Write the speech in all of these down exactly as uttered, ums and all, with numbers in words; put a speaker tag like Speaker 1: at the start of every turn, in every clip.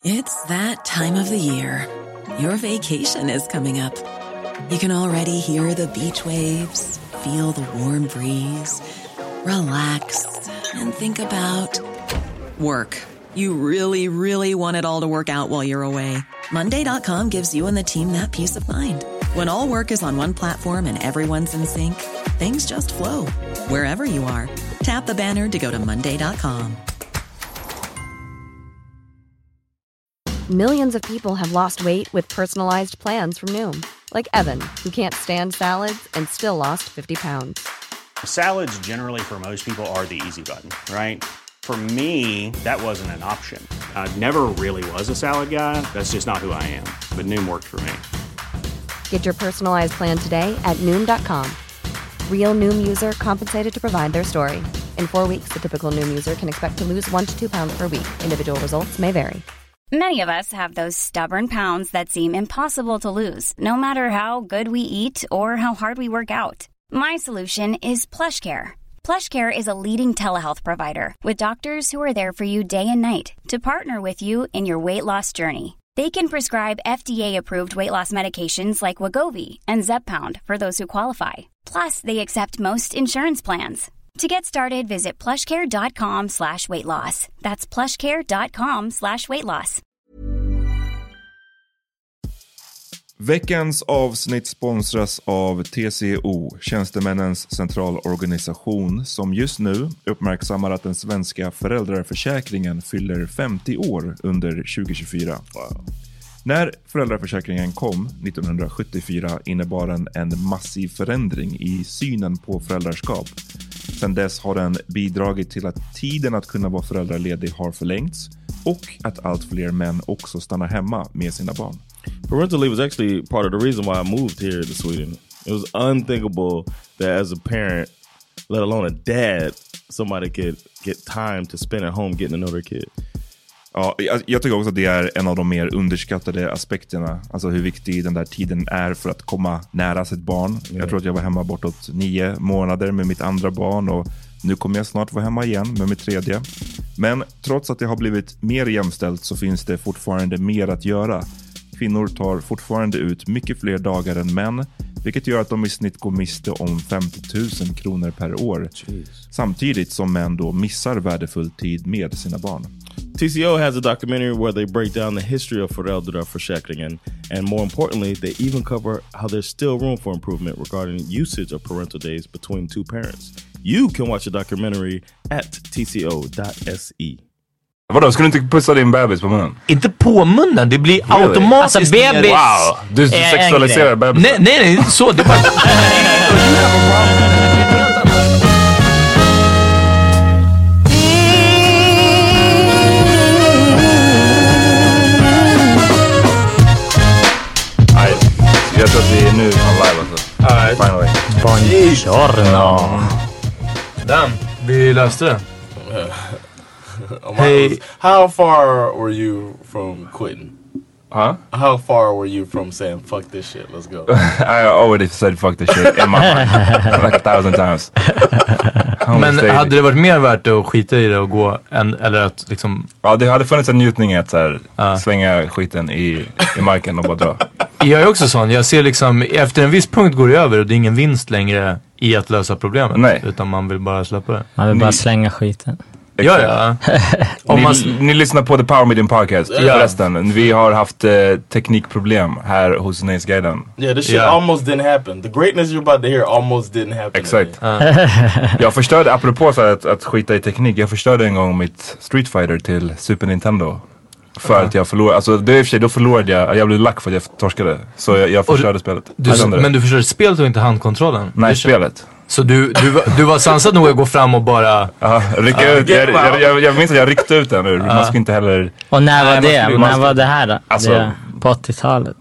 Speaker 1: It's that time of the year. Your vacation is coming up. You can already hear the beach waves, feel the warm breeze, relax, and think about work. You really, really want it all to work out while you're away. Monday dot com gives you and the team that peace of mind. When all work is on one platform and everyone's in sync, things just flow. Wherever you are, tap the banner to go to monday dot com.
Speaker 2: Millions of people have lost weight with personalized plans from Noom. Like Evan, who can't stand salads and still lost fifty pounds.
Speaker 3: Salads generally for most people are the easy button, right? For me, that wasn't an option. I never really was a salad guy. That's just not who I am. But Noom worked for me.
Speaker 2: Get your personalized plan today at Noom dot com. Real Noom user compensated to provide their story. In four weeks, the typical Noom user can expect to lose one to two pounds per week. Individual results may vary.
Speaker 4: Many of us have those stubborn pounds that seem impossible to lose, no matter how good we eat or how hard we work out. My solution is PlushCare. PlushCare is a leading telehealth provider with doctors who are there for you day and night to partner with you in your weight loss journey. They can prescribe F D A-approved weight loss medications like Wegovy and Zepbound for those who qualify. Plus, they accept most insurance plans. To get started, visit plushcare.com slash weight loss. That's plushcare.com slash weight loss.
Speaker 5: Veckans avsnitt sponsras av T C O, Tjänstemännens centralorganisation, som just nu uppmärksammar att den svenska föräldraförsäkringen fyller femtio år under tjugo tjugofyra. Wow. När föräldraförsäkringen kom nittonhundrasjuttiofyra innebar den en massiv förändring i synen på föräldraskap. Sedan dess har den bidragit till att tiden att kunna vara föräldraledig har förlängts och att allt fler män också stannar hemma med sina barn.
Speaker 6: Parental leave was actually part of the reason why I moved here to Sweden. It was unthinkable that as a parent, let alone a dad, somebody could get time to spend at home getting to know their kid.
Speaker 5: Ja, jag, jag tycker också att det är en av de mer underskattade aspekterna. Alltså hur viktig den där tiden är för att komma nära sitt barn. Yeah. Jag tror att jag var hemma bortåt nio månader med mitt andra barn och nu kommer jag snart vara hemma igen med mitt tredje. Men trots att det har blivit mer jämställt så finns det fortfarande mer att göra. Kvinnor tar fortfarande ut mycket fler dagar än män, vilket gör att de i snitt går miste om femtio tusen kronor per år. Jeez. Samtidigt som män då missar värdefull tid med sina barn.
Speaker 6: T C O has a documentary where they break down the history of föräldraförsäkringen, and more importantly, they even cover how there's still room for improvement regarding usage of parental days between two parents. You can watch the documentary at t c o dot s e.
Speaker 5: Vadå, ska du inte pussa din bebis på munnen?
Speaker 7: Inte på munnen, det blir really? automatiskt.
Speaker 8: Alltså bebis.
Speaker 5: Wow, du sexualiserar bebis.
Speaker 7: Nej, nej, nej, inte så. Det är bara...
Speaker 5: Nej, jag tror att vi är nu on live alltså.
Speaker 7: Alright.
Speaker 5: Finally.
Speaker 8: Buongiorno.
Speaker 7: Damn, vi löste det.
Speaker 9: Hey, how far were you from quitting?
Speaker 5: Huh?
Speaker 9: How far were you from saying fuck this shit? Let's go.
Speaker 5: I already said fuck this shit in my mind like a thousand times.
Speaker 7: Men hade det varit mer värt att skita i det och gå än, eller att liksom...
Speaker 5: Ja, det hade funnits en njutning i att så här, uh. svänga skiten i, i marken och bara dra.
Speaker 7: Jag är också sån. Jag ser liksom, efter en viss punkt går det över och det är ingen vinst längre i att lösa problemet.
Speaker 5: Nej.
Speaker 7: Utan man vill bara släppa det.
Speaker 8: Man vill bara slänga skiten.
Speaker 7: Ja, ja.
Speaker 5: Om man... ni, ni lyssnar på The Power Medium Podcast.
Speaker 9: Yeah.
Speaker 5: Förresten, vi har haft eh, teknikproblem här hos Nöjesguiden.
Speaker 9: Yeah, this shit yeah. almost didn't happen. The greatness you're about to hear almost didn't happen.
Speaker 5: Exakt. Uh. Jag förstörde, apropå så att, att skita i teknik, jag förstörde en gång mitt Street Fighter till Super Nintendo. För uh-huh. att jag förlorade, alltså det är i och för sig, då förlorade jag, jag blev lack för att jag torskade. Så jag, jag förstörde du, spelet.
Speaker 7: Du, men du förstörde spelet och inte handkontrollen?
Speaker 5: Nej, spelet.
Speaker 7: Så du, du, du var sansad nog att gå fram och bara...
Speaker 5: Ja, rycka uh, ut. Jag, jag, jag, jag minns att jag ryckte ut den ur. Uh. Man ska inte heller...
Speaker 8: Och när var
Speaker 5: nej,
Speaker 8: det?
Speaker 5: Man,
Speaker 8: när
Speaker 5: man
Speaker 8: var det här då?
Speaker 5: Alltså...
Speaker 8: Det, på åttiotalet.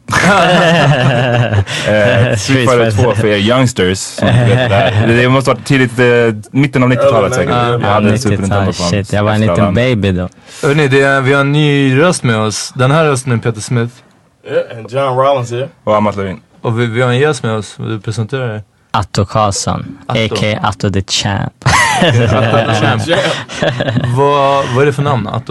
Speaker 5: eh, Street Fighter två för er youngsters. Som vet det, här. Det måste vara tidigt, eh, mitten av nittiotalet säkert.
Speaker 8: Uh,
Speaker 5: jag hade en Super Nintendo på
Speaker 8: shit, jag var en liten baby då.
Speaker 7: Hörrni, det är, vi har en ny röst med oss. Den här rösten är Peter Smith.
Speaker 9: Yeah, and John Rollins here.
Speaker 5: Och Amat Levin.
Speaker 7: Och vi, vi har en gäst med oss. Du presenterar dig.
Speaker 8: Atto Karlsson, a k a. Atto the Champ.
Speaker 7: Atto the Champ. vad, vad är det för namn, Atto?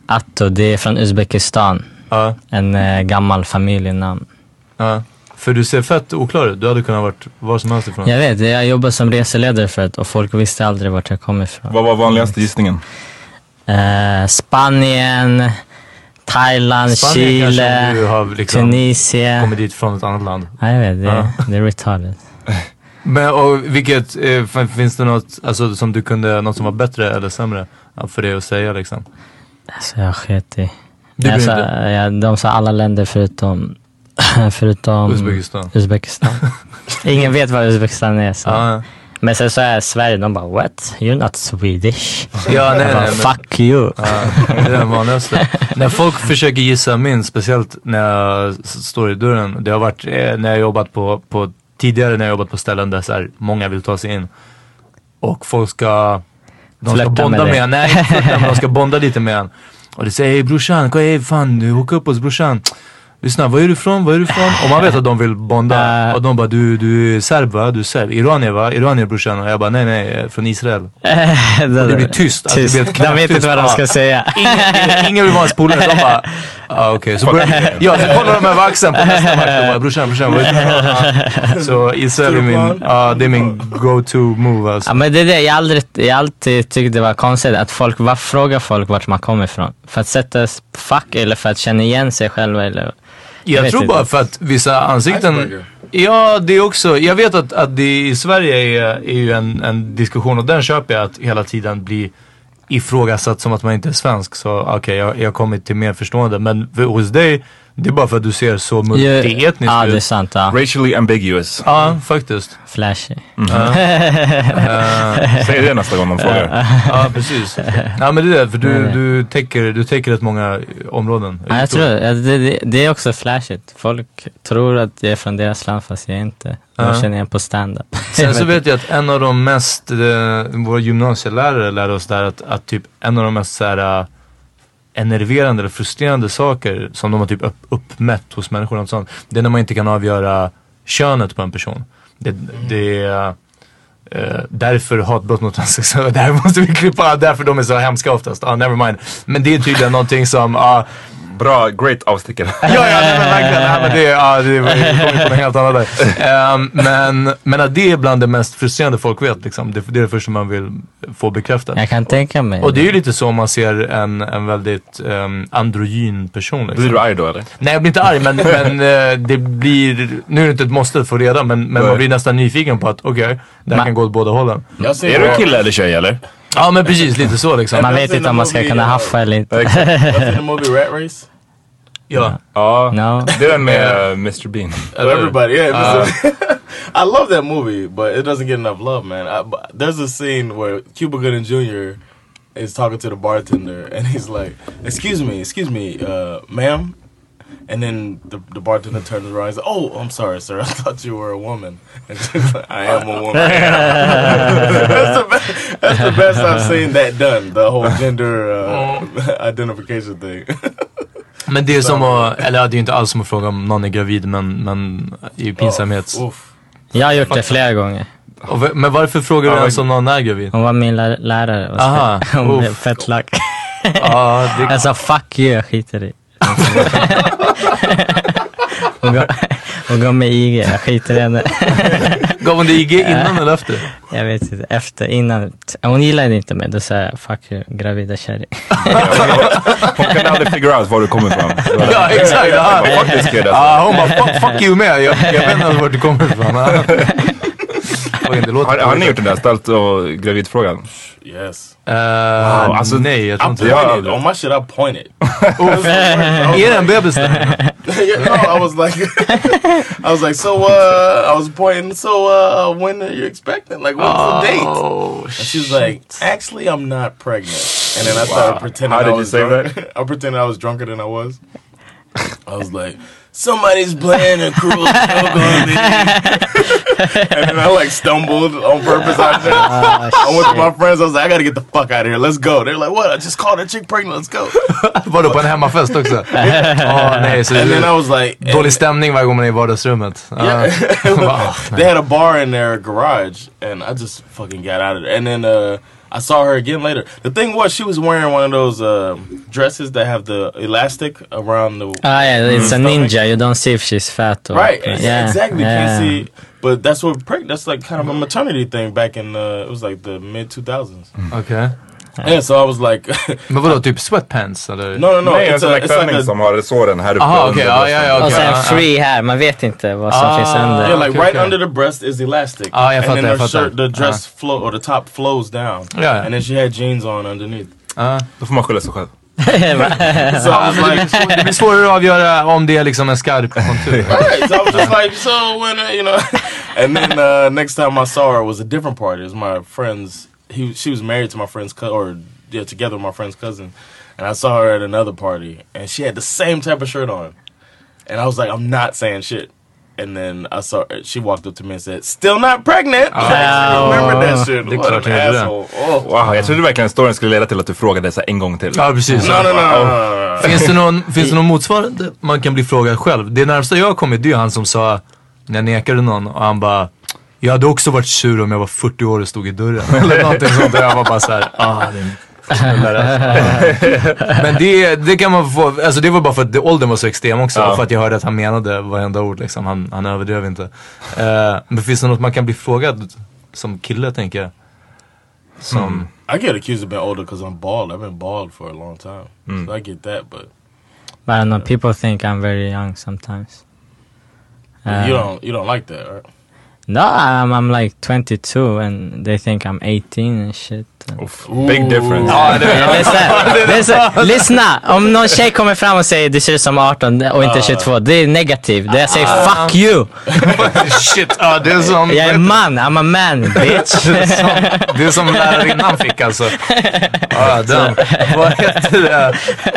Speaker 8: Atto, det är från Uzbekistan.
Speaker 7: Ja.
Speaker 8: En eh, gammal familjenamn.
Speaker 7: Ja. För du ser fett oklar ut. Du hade kunnat varit var som helst ifrån.
Speaker 8: Jag vet, jag jobbar som reseledare för det och folk visste aldrig vart jag kom ifrån.
Speaker 5: Vad var vanligaste gissningen?
Speaker 8: Eh, Spanien, Thailand,
Speaker 7: Spanien
Speaker 8: Chile,
Speaker 7: du har liksom
Speaker 8: Tunisien.
Speaker 7: kommit dit från ett annat land.
Speaker 8: Ja, jag vet, det,
Speaker 7: Ja.
Speaker 8: det är retarded.
Speaker 7: Men och vilket, eh, finns det något alltså, som du kunde, något som var bättre eller sämre för det att säga liksom?
Speaker 8: Alltså jag sket i.
Speaker 7: Du
Speaker 8: Jag
Speaker 7: bryr
Speaker 8: sa,
Speaker 7: inte?
Speaker 8: jag, de sa alla länder förutom förutom
Speaker 7: Uzbekistan.
Speaker 8: Uzbekistan. Ingen vet vad Uzbekistan är. Så.
Speaker 7: Ja.
Speaker 8: Men sen så är Sverige, de bara what? You're not Swedish.
Speaker 7: Ja, nej,
Speaker 8: Jag bara,
Speaker 7: nej, men-
Speaker 8: fuck you.
Speaker 7: Ja, det är den vanligaste. När folk försöker gissa min, speciellt när jag s- står i dörren. Det har varit eh, när jag jobbat på, på tidigare när jag jobbat på ställen där så här, många vill ta sig in. Och folk ska de ska
Speaker 8: Flörta
Speaker 7: bonda
Speaker 8: med
Speaker 7: med
Speaker 8: dig.
Speaker 7: en. Nej, inte flörta, men de ska bonda lite med en. Och det säger, hej brorsan, vad är fan, du hooka upp oss brorsan. Lyssna, var är du ifrån? Var är du ifrån? Och man vet att de vill bonda.
Speaker 8: Uh.
Speaker 7: Och de bara, du, du är serb va? Du är serb. Iranier va? Iranier brorsan. Och jag bara, nej nej, från Israel.
Speaker 8: det,
Speaker 7: det blir tyst. Alltså, det blir helt
Speaker 8: de vet
Speaker 7: knäpptyst.
Speaker 8: inte vad de ska
Speaker 7: Ja.
Speaker 8: säga.
Speaker 7: Ingen, ingen vill vara ens polare. De bara, ah, okej. Okay. Så börjar, ja, så kollar de över axeln på nästa match. De bara, brorsan, brorsan. Vad är det? Ja. Så Israel är min, ja, det är min go-to move alltså.
Speaker 8: Ja, men det är det, jag aldrig, jag alltid tyckte det var konstigt att folk, vad frågar folk vart man kommer ifrån? För att sätta fuck eller för att känna igen sig själva eller...
Speaker 7: Jag,
Speaker 8: vet
Speaker 7: tror
Speaker 8: inte.
Speaker 7: bara för att vissa ansikten... Ja, det är också... Jag vet att, att det i Sverige är, är ju en, en diskussion och den köper jag att hela tiden blir ifrågasatt som att man inte är svensk. Så okej, okay, jag, jag har kommit till mer förstående. Men för, hos dig, det är bara för att du ser så multietnisk ut.
Speaker 8: Ja, det är sant. Ja.
Speaker 5: Racially ambiguous.
Speaker 7: Ja, faktiskt.
Speaker 8: Flashy.
Speaker 7: Mm. Ja. uh,
Speaker 5: Säg det nästa gång de frågar.
Speaker 7: Ja, precis. Ja, men det är det, för du, du, täcker, du täcker rätt många områden.
Speaker 8: Ja, jag tror ja, det, det, det är också flashigt. Folk tror att jag är från deras land fast jag är inte. De
Speaker 7: Ja.
Speaker 8: känner igen på stand-up.
Speaker 7: Sen så vet jag att en av de mest, eh, våra gymnasielärare lärde oss där att, att typ en av de mest så här, uh, enerverande eller frustrerande saker som de har typ upp, uppmätt hos människor och sånt, det är när man inte kan avgöra könet på en person. Det, det är uh, därför hatbrott mot transsexuella, där måste vi klippa, därför de är så hemska oftast. Ah, never mind. Men det är tydligen någonting som uh,
Speaker 5: Bra, great avstickare.
Speaker 7: ja, ja, nej, men verkligen. Nej, men det, ja, det kommer på något helt annat där. Um, men, men att det är bland det mest frustrerande folk vet. Liksom. Det, det är det första man vill få bekräftat.
Speaker 8: Jag kan tänka mig.
Speaker 7: Och det är ju lite så om man ser en, en väldigt um, androgyn person. Liksom.
Speaker 5: Blir du arg då eller?
Speaker 7: Nej, jag blir inte arg, men, men uh, det blir, nu är det inte ett måste att få reda, men, men man blir nästan nyfiken på att okej, okay, det här
Speaker 8: Ma-
Speaker 7: kan gå åt båda hållen.
Speaker 5: Är du kille eller tjej eller?
Speaker 7: Ja, men precis, lite så liksom.
Speaker 8: Man vet inte om man ska kunna haffa eller inte.
Speaker 9: What's in the movie Rat Race?
Speaker 7: Ja.
Speaker 5: Ja,
Speaker 8: No.
Speaker 5: det är den med uh, mister Bean.
Speaker 9: Uh, everybody, yeah. Uh, I love that movie, but it doesn't get enough love, man. I, but there's a scene where Cuba Gooding Junior is talking to the bartender, and he's like, "Excuse me, excuse me, uh, ma'am." And then the, the bartender turns around and says, "Oh, I'm sorry, sir. I thought you were a woman." And she's like, "I am a woman." that's, the best, that's the best I've seen that done. The whole gender uh, identification thing.
Speaker 7: Men det är som att, eller ja, det är inte alls som att fråga om någon är gravid, men, men i pinsamhet.
Speaker 9: Oh, oof.
Speaker 8: Jag har gjort det flera gånger.
Speaker 7: Och, v- men varför frågar du
Speaker 5: Ja,
Speaker 7: ens om någon är gravid?
Speaker 8: Hon var min lär- lärare. Och
Speaker 7: Aha,
Speaker 8: så, hon blev
Speaker 7: uff.
Speaker 8: fett lack.
Speaker 7: Ja, det,
Speaker 8: Jag sa fuck you, jag skiter i. Hon gav, hon gav mig I G, jag skiter i henne.
Speaker 7: gav hon det I G innan eller efter?
Speaker 8: Jag vet inte, efter, innan. Hon gillade inte mig, då sa jag fuck you, gravida kärring.
Speaker 5: Hon kan aldrig figure out var du kommer ifrån.
Speaker 7: Ja, exakt. Ja,
Speaker 5: Vad faktiskt är det.
Speaker 7: ja, hon bara fuck, fuck you med. Jag, jag vet inte vart du kommer ifrån. Ja. Oj, det låter
Speaker 5: Har, har ni gjort den där ställt och gravidfrågan?
Speaker 9: Yes.
Speaker 7: Uh,
Speaker 5: Wow, alltså,
Speaker 7: nej, jag tror
Speaker 9: I
Speaker 7: inte
Speaker 9: pointed.
Speaker 7: det.
Speaker 9: On my shit, I pointed.
Speaker 7: Är det en bebis där?
Speaker 9: Yeah, no, I was like, I was like, so, uh, I was pointing, so, uh, when are you expecting? Like, what's the date?
Speaker 7: Oh,
Speaker 9: And she's like, actually, I'm not pregnant. And then I started pretending
Speaker 5: How did
Speaker 9: I
Speaker 5: you
Speaker 9: was
Speaker 5: say
Speaker 9: drunk.
Speaker 5: that?
Speaker 9: I pretended I was drunker than I was. I was like, somebody's playing a cruel joke on me. And then I like stumbled on purpose out there.
Speaker 8: Ah,
Speaker 9: I went to my friends, I was like, I gotta get the fuck out of here, let's go. They're like, what? I just called a chick pregnant, let's go.
Speaker 7: var du på en hemmafest också? Ja, nej, så
Speaker 9: And then I
Speaker 7: det
Speaker 9: was like,
Speaker 7: är dålig
Speaker 9: and-
Speaker 7: stämning varje gång man är i vardagsrummet. Ja.
Speaker 9: Yeah. They had a bar in their garage, and I just fucking got out of there. And then uh, I saw her again later. The thing was, she was wearing one of those uh, dresses that have the elastic around the.
Speaker 8: Ah, yeah, it's
Speaker 9: mm,
Speaker 8: a ninja. You don't see if she's fat or.
Speaker 9: Right,
Speaker 8: yeah,
Speaker 9: exactly.
Speaker 8: Yeah.
Speaker 9: Can't see. But that's what preg- that's like kind of a maternity thing back in uh, it was like the mid two thousands.
Speaker 7: Okay.
Speaker 9: Yeah, so I was like.
Speaker 7: Men vadå, typ sweatpants eller?
Speaker 9: No, no, no.
Speaker 5: Nej,
Speaker 9: It's
Speaker 5: en sån
Speaker 9: a,
Speaker 5: där
Speaker 9: it's
Speaker 5: klänning
Speaker 9: like a,
Speaker 5: som har såren här uppe.
Speaker 7: Aha,
Speaker 5: under
Speaker 7: okej, ja, ja, ja,
Speaker 8: Och
Speaker 7: okej.
Speaker 8: sen
Speaker 7: Ah,
Speaker 8: free här, man vet inte vad som
Speaker 7: Ah,
Speaker 8: finns under.
Speaker 9: yeah, like
Speaker 7: okay,
Speaker 9: right
Speaker 7: okay.
Speaker 9: under the breast is elastic.
Speaker 7: Ah, jag
Speaker 9: and
Speaker 7: fattar,
Speaker 9: then
Speaker 7: jag
Speaker 9: her
Speaker 7: fattar.
Speaker 9: shirt, the dress flow or the top flows down.
Speaker 7: Ja, ja.
Speaker 9: And then she had jeans on underneath.
Speaker 7: Ah.
Speaker 5: Då får man skylla sig själv.
Speaker 9: So I was like,
Speaker 7: Det blir svårare att avgöra om det är liksom en skarp kontur.
Speaker 9: right. So I was just like, so when uh, you know, and then uh, next time I saw her was a different party. It was my friend's. He she was married to my friend's cousin, or yeah, together with my friend's cousin, and I saw her at another party, and she had the same type of shirt on, and I was like, I'm not saying shit. And then I saw her, she walked up to me and said, "Still not pregnant."
Speaker 7: Oh.
Speaker 9: I remember that shit.
Speaker 7: Det är
Speaker 9: What
Speaker 7: klart
Speaker 9: an
Speaker 7: jag gjorde det.
Speaker 9: asshole. Oh.
Speaker 5: Wow, jag trodde verkligen storyn skulle leda till att du frågade så här en gång till.
Speaker 7: Ja, precis.
Speaker 9: No, no, no, no, no, no.
Speaker 7: Finns det någon, finns det någon motsvarande man kan bli frågad själv? Det närmsta jag har kommit, det är han som sa, när jag nekade någon, och han bara, jag hade också varit sur om jag var fyrtio år och stod i dörren. Eller någonting sånt där. Jag var bara såhär, ah, det är men det, det kan man få, alltså det var bara för att det, åldern var så extrem också,
Speaker 5: ja.
Speaker 7: och för att jag hörde att han menade varenda ord liksom, han, han överdrev inte. uh, Men finns det något man kan bli frågad som kille, tänker jag? Som
Speaker 5: Mm.
Speaker 9: I get accused of being older because I'm bald. I've been bald for a long time.
Speaker 5: Mm.
Speaker 9: So I get that, but
Speaker 8: But I don't know, people think I'm very young sometimes.
Speaker 9: you
Speaker 8: Uh,
Speaker 9: don't you don't like that, right?
Speaker 8: No, I'm, I'm like twenty-two and they think I'm eighteen and shit.
Speaker 5: Oof, big difference.
Speaker 8: Ja, lyssna, lyssna, lyssna, om någon tjej kommer fram och säger du ser ut som arton och inte tjugotvå, det är negativt. Det jag säger fuck you.
Speaker 7: shit, ja, det är som
Speaker 8: Jag är man, I'm a man bitch.
Speaker 7: det är som lärarinnan fick alltså. Ja, den. Vad heter det?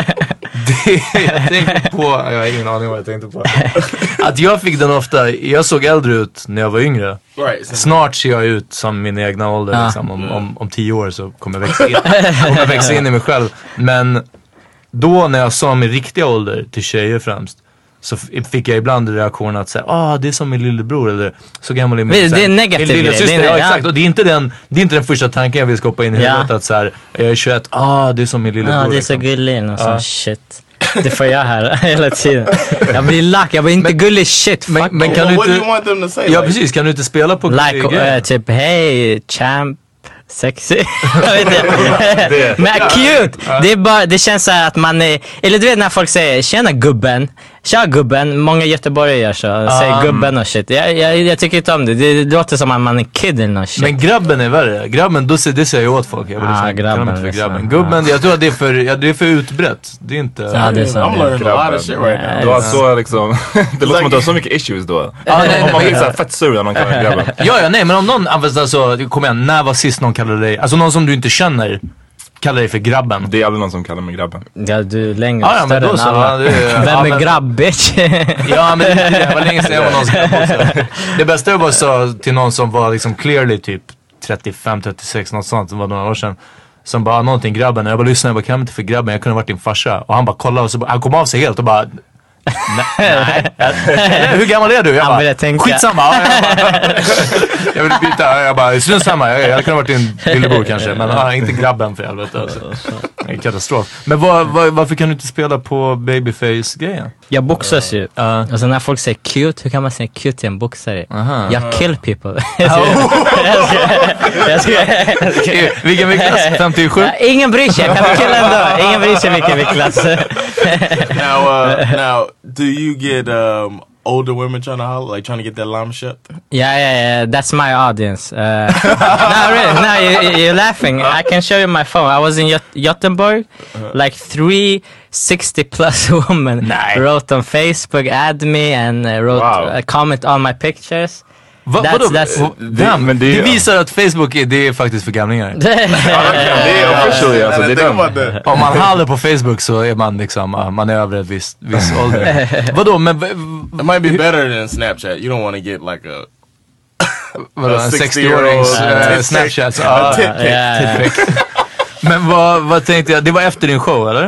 Speaker 7: Det jag tänkte på, jag har ingen aning vad jag tänkte på. Att jag fick den ofta, jag såg äldre ut när jag var yngre.
Speaker 9: Right.
Speaker 7: Snart ser jag ut som min egna ålder
Speaker 8: Ah.
Speaker 7: liksom. om, om, om tio år så kommer jag växa in, kommer jag växa in i mig själv. Men då när jag sa min riktiga ålder till tjejer främst, så f- fick jag ibland reaktionen att säga, ah, det är som min lillebror, eller så gammal är min.
Speaker 8: Det- det är negativt
Speaker 7: min lilla
Speaker 8: grej,
Speaker 7: syster.
Speaker 8: det är-
Speaker 7: Ja, exakt. Och det är inte den, det är inte den första tanken jag vill skapa in i
Speaker 8: Ja.
Speaker 7: huvudet, att så här, jag är tjugoett, ah, det är som min lillebror.
Speaker 8: Ja, det är så
Speaker 7: liksom.
Speaker 8: gullig och
Speaker 7: Ja.
Speaker 8: sån shit. Det får jag här hela tiden. Jag blir lack, jag blir inte gullig shit. Fuck.
Speaker 7: Men, men kan
Speaker 9: Well,
Speaker 7: du
Speaker 9: what do
Speaker 7: inte,
Speaker 9: you want them to say?
Speaker 7: ja
Speaker 9: Like,
Speaker 7: precis, kan du inte spela på
Speaker 8: Like,
Speaker 7: grejer?
Speaker 8: uh, typ hej champ, sexy. Jag vet inte. Men cute, det är bara, det känns så här att man är, eller du vet när folk säger tjena gubben, tja gubben, många göteborgare gör så, säger gubben och shit. Jag, jag, jag tycker inte om det, det, det låter som att man är kid eller något shit.
Speaker 7: Men grabben är värre. Grabben, då ser, det säger jag åt folk. Jag vill
Speaker 8: Ah,
Speaker 7: liksom,
Speaker 8: grabben,
Speaker 7: kalla mig för
Speaker 8: liksom.
Speaker 7: grabben. Gubben, jag tror att det är för, ja, det är för utbrett. Det är inte...
Speaker 8: Ja, det är så.
Speaker 9: I'm learning a lot of shit right now.
Speaker 5: Du har så liksom, det låter som att du har så mycket issues då.
Speaker 7: Ja, nej,
Speaker 5: Om man
Speaker 7: nej,
Speaker 5: blir såhär fett sur när någon kallar grabben.
Speaker 7: ja, ja, nej, men om någon, alltså, kom igen, när var sist någon kallade dig, alltså någon som du inte känner, kallar dig för grabben?
Speaker 5: Det är aldrig någon som kallar mig grabben.
Speaker 8: Ja, du är längre,
Speaker 7: Ja, ja, men
Speaker 8: större
Speaker 7: då
Speaker 8: än
Speaker 7: så,
Speaker 8: alla.
Speaker 7: ja, det är-
Speaker 8: Vem
Speaker 7: ja,
Speaker 8: är
Speaker 7: men-
Speaker 8: grabb bitch?
Speaker 7: Ja, men det, det var länge sedan jag var någons grabb också. Det bästa jag bara sa till någon som var liksom clearly typ trettiofem trettiosex, något sånt, det var några år sedan. Som bara, någonting grabben, och jag bara lyssnade, jag bara, kan jag inte för grabben, jag kunde ha varit din farsa. Och han bara kollade och så bara, han kom av sig helt och bara, nej, nej. Hur gammal är du? Jag
Speaker 8: Han
Speaker 7: bara,
Speaker 8: började tänka.
Speaker 7: skitsamma. Ja, jag, bara, jag vill byta, jag bara, strunt samma, jag, jag kunde ha varit din lillebror kanske. Men ja, inte grabben för helvete. Alltså. Det är en katastrof. Men var, var, varför kan du inte spela på babyface-grejen?
Speaker 8: Jag boxas ju.
Speaker 7: Ja.
Speaker 8: Alltså när folk säger cute, hur kan man säga cute till en boxare?
Speaker 7: Aha.
Speaker 8: Jag kill people. jag ska, jag ska, jag ska,
Speaker 7: Eh, Vilken viktklass? femtiosju?
Speaker 8: Ja, ingen bryr sig, jag kan bli kill ändå. Ingen bryr sig vilken viktklass.
Speaker 9: now, uh, now, do you get um, older women trying to holler, like trying to get that llama shit?
Speaker 8: Yeah, yeah, yeah. That's my audience. Uh, no, really. No, you, you're laughing. I can show you my phone. I was in Jot- Gothenburg. Like three sixty plus women
Speaker 7: Nej.
Speaker 8: wrote on Facebook, add me, and uh, wrote
Speaker 5: Wow.
Speaker 8: a comment on my pictures.
Speaker 7: Va,
Speaker 8: That's-
Speaker 7: vadå?
Speaker 8: that's-
Speaker 7: Va- Damn,
Speaker 5: men det
Speaker 7: det,
Speaker 5: är-
Speaker 7: visar att Facebook är, det är faktiskt för gamlingar.
Speaker 5: Det är officially alltså, det är
Speaker 9: Think about
Speaker 5: den.
Speaker 9: that.
Speaker 7: Om man håller på Facebook så är man liksom, ah, man är över ett visst, viss ålder. Vadå, men v-
Speaker 9: It might be better than Snapchat. You don't want to get like a
Speaker 7: vadå,
Speaker 9: a
Speaker 7: en
Speaker 9: sixty-year-old
Speaker 7: sextio-årings
Speaker 9: uh,
Speaker 7: uh,
Speaker 9: tit
Speaker 7: Snapchat?
Speaker 9: pic.
Speaker 7: Ah,
Speaker 9: A tit pic.
Speaker 8: Yeah, yeah.
Speaker 7: Men vad, vad tänkte jag, det var efter din show eller?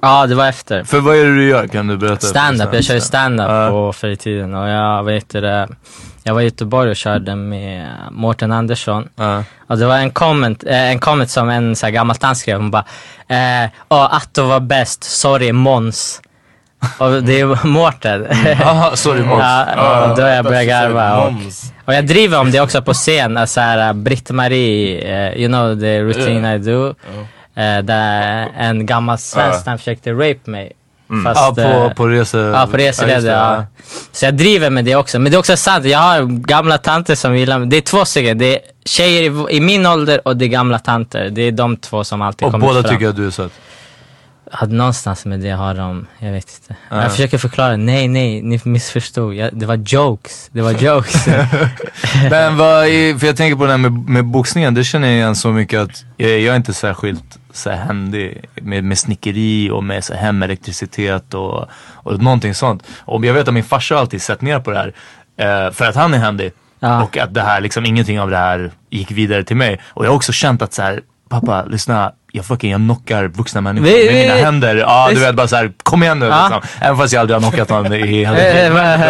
Speaker 8: Ja, det var efter.
Speaker 7: För vad är det du gör? Kan du berätta?
Speaker 8: Stand-up, jag kör stand-up
Speaker 7: uh.
Speaker 8: på förr i tiden. Och jag vet det, jag var i Göteborg och körde med Mårten Andersson. Uh. Och det var en comment, eh, en comment som en så här gammal tant skrev. Hon bara, eh, oh, Atto var bäst, sorry Måns. Och det är Mårten.
Speaker 7: Aha, sorry Måns.
Speaker 8: Ja, och då jag började garva. Och, och jag driver om det också på scen. Alltså här, Britt-Marie, uh, you know the routine yeah. I do. Uh. Uh, där en gammal svensk uh. försökte rape mig.
Speaker 7: Mm.
Speaker 8: Fast,
Speaker 7: ja, på, på rese...
Speaker 8: Ja, på reseleder, ja, ja. Så jag driver med det också. Men det är också sant, jag har gamla tanter som gillar mig. Det är två stycken, det är tjejer i, i min ålder och det är gamla tanter. Det är de två som alltid
Speaker 7: och
Speaker 8: kommer fram.
Speaker 7: Och båda tycker att du är söt?
Speaker 8: Ja, någonstans med det har de, jag vet inte. Ja. Jag försöker förklara, nej, nej, ni missförstod. Jag, det var jokes, det var jokes.
Speaker 7: Men vad är, för jag tänker på det här med, med boxningen, det känner jag igen så mycket att jag, jag är inte särskilt så här händig med, med snickeri och med så här hemelektricitet och, och någonting sånt. Och jag vet att min farsa alltid sett ner på det här eh, för att han är händig. Ja. Och att det här liksom, ingenting av det här gick vidare till mig. Och jag har också känt att så här, pappa, lyssna, jag fucking, jag knockar vuxna människor vi, med vi, mina händer. Ja, du vet, bara så här, kom igen nu, ja. Liksom. Även fast jag aldrig har knockat någon i hela tiden.